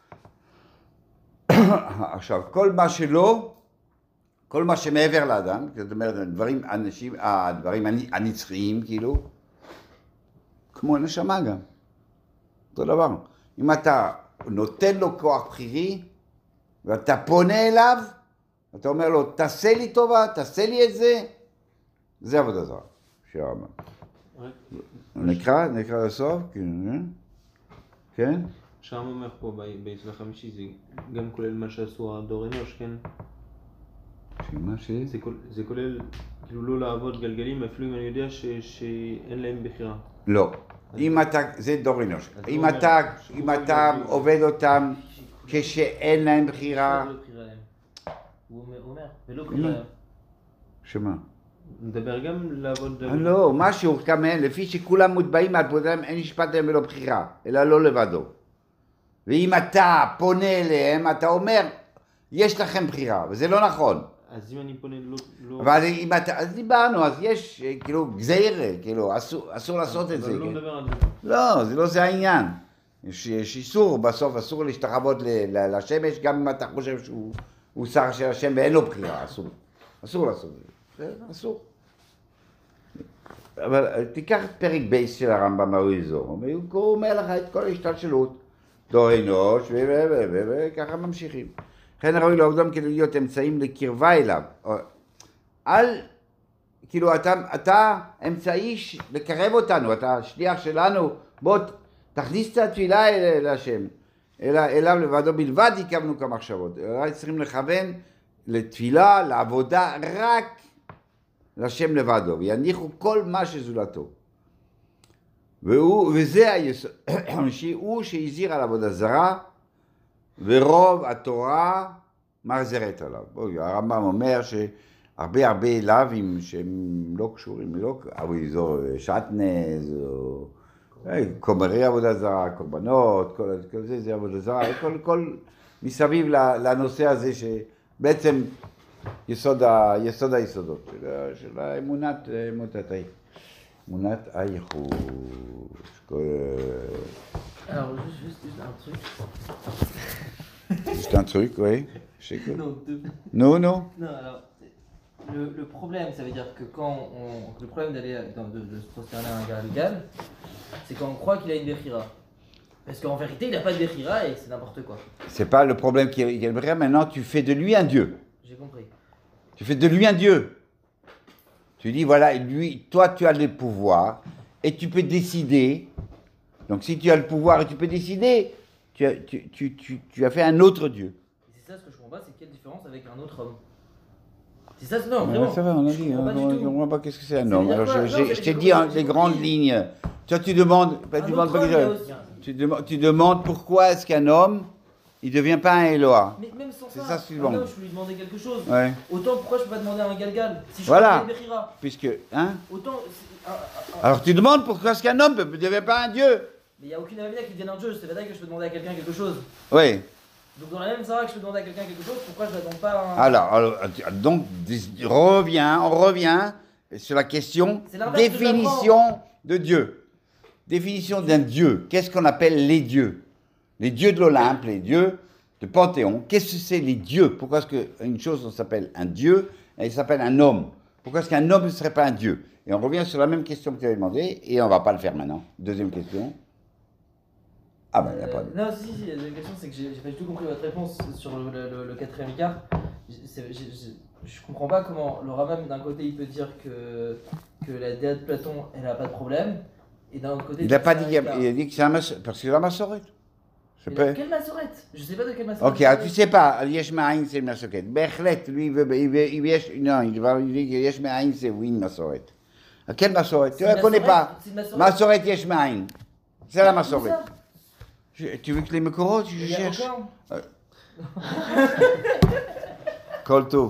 עכשיו, כל מה שלא, כל מה שמעבר לאדם, זאת אומרת, הדברים, אנשים, הדברים הנצחיים, כאילו, כמו נשמה גם. אותו דבר. אם אתה נותן לו כוח בחירי, ואתה פונה אליו, אתה אומר לו, תעשה לי טובה, תעשה לי את זה, זה עבודה זרה. שהרמב"ם. נקרא, נקרא לסוף, כן? שם אומר פה, ביצוא החמישי, זה גם כולל מה שעשו הדור אנוש, כן? שמה ש... זה כולל, כאילו לא לעבוד גלגלים, אפילו אם אני יודע שאין להם בחירה. לא. אם אתה, זה דור אנוש. אם אתה, אם אתה עובד אותם כשאין להם בחירה... הוא אומר, ולא בחירה. שמה? נדבר גם לעבוד... לא, משהו כמה, לפי שכולם מוטבעים על פודם, אין משפט להם ולא בחירה, אלא לא לבדו. ואם אתה פונה אליהם, אתה אומר, יש לכם בחירה, וזה לא נכון. אז אם אני פונה לא... לא... אבל אם אתה, אז דיברנו, אז יש, כאילו, גזירה, כאילו, אסור, אסור לעשות את זה. אבל לא כן? מדבר על זה. לא, זה לא זה העניין. יש, יש איסור, בסוף אסור להשתחוות ל- ל- לשמש, גם אם אתה חושב שהוא הוא שר של השם ואין לו בחירה, אסור. אסור לעשות את זה, זה אסור. אבל תיקח את פרק בייס של הרמב"ם האריזור, והוא אומר לך את כל ההשתלשלות, דור אנוש, וככה ממשיכים. לכן ראוי לעובדם כדי להיות אמצעים לקרבה אליו. אל, כאילו אתה, אתה אמצעי לקרב אותנו, אתה שליח שלנו, בוא תכניס את התפילה אל השם, אלא, אליו לבדו בלבד יקבנו כמחשבות. אולי צריכים לכוון לתפילה, לעבודה, רק לשם לבדו, ויניחו כל מה שזולתו. והוא, וזה היסוד, הוא שהזהיר על עבודה זרה, ורוב התורה מחזרת עליו. בואי, הרמב"ם אומר שהרבה הרבה לאווים שהם לא קשורים, לא, אריזור שטנז, או קומרי עבודה זרה, קורבנות, כל, כל זה, זה עבודה זרה, כל, כל מסביב לנושא הזה שבעצם יסוד, ה, יסוד היסודות של, של האמונת, אמונת האי. אמונת הייחוש. Alors, juste, juste, juste un truc. C'est un truc, oui. J'écoute. Non, deux. Non, non. Non, alors, le, le problème, ça veut dire que quand on. Le problème d'aller dans- de, de se prosterner à un gars légal, c'est quand on croit qu'il a une Bechira. Parce qu'en vérité, il n'a pas de Bechira et c'est n'importe quoi. C'est pas le problème qui est vrai. Maintenant, tu fais de lui un Dieu. J'ai compris. Tu fais de lui un Dieu. Tu dis, voilà, lui, toi, tu as le pouvoir et tu peux décider. Donc, si tu as le pouvoir et tu peux décider, tu as, tu, tu, tu, tu as fait un autre Dieu. Et c'est ça ce que je comprends pas, c'est quelle différence avec un autre homme. C'est ça, non, Ouais, vraiment. c'est vrai, on a je dit. comprends pas On du ne tout. comprend pas qu'est-ce que c'est un Ça homme. veut dire Alors, quoi? je, Non, j'ai- mais je t'ai j'ai dit hein, compris, les j'ai grandes compris. lignes. Toi, tu demandes. bah, Un tu, demandes autre pas homme, il y a que aussi- tu, demandes, tu demandes pourquoi est-ce qu'un homme, il ne devient pas un Eloah. Mais même sans C'est ça, ça, suivant. un homme, je peux lui demander quelque chose. Ouais. Autant pourquoi je peux pas demander à un galgal si je Voilà. connais une Bechira. Puisque, hein. Autant. c'est- un- un- un- Alors, tu demandes pourquoi est-ce qu'un homme ne devient pas un Dieu. Mais il n'y a aucune avenir qui devienne un dieu, c'est pas vrai que je peux demander à quelqu'un quelque chose. Oui. Donc dans la même Sarah que je peux demander à quelqu'un quelque chose, pourquoi je ne demande pas à un... Alors, alors, donc, dis- revient, on revient sur la question C'est l'inverse que définition de Dieu. Définition d'un Dieu. Qu'est-ce qu'on appelle les dieux? Les dieux de l'Olympe, les dieux de Panthéon. Qu'est-ce que c'est les dieux? Pourquoi est-ce qu'une chose on s'appelle un Dieu et il s'appelle un homme? Pourquoi est-ce qu'un homme ne serait pas un Dieu? Et on revient sur la même question que tu avais demandé et on ne va pas le faire maintenant. Deuxième question. Ah ben, il n'y a pas de... Euh, non, si, si, la question c'est que j'ai j'ai pas du tout compris votre réponse sur le, le, le- le quatrième écart. J'ai- c'est- j'ai- j'ai- Je comprends pas comment le Rambam d'un côté il peut dire que, que la déesse de Platon elle a pas de problème et d'un autre côté... Il n'a pas c'est dit, un écart. il a dit que c'est un massorette, parce que c'est la massorette. Je Mais peux... Quelle massorette? Je sais pas de quelle massorette. Ok, alors tu sais pas, Yesh Ma'ain c'est une massorette. Bechlet, lui, il veut, il veut, il veut, non, il va lui dire que Yesh Ma'ain c'est oui une massorette. À quelle massorette? Tu C'est ne la connais massorette, pas? c'est une massorette. Massorette Yesh Ma'ain. C'est la Où massorette. ça? Je- Tu veux que les Mekorot, je Il y a cherche? aucun. Kolto.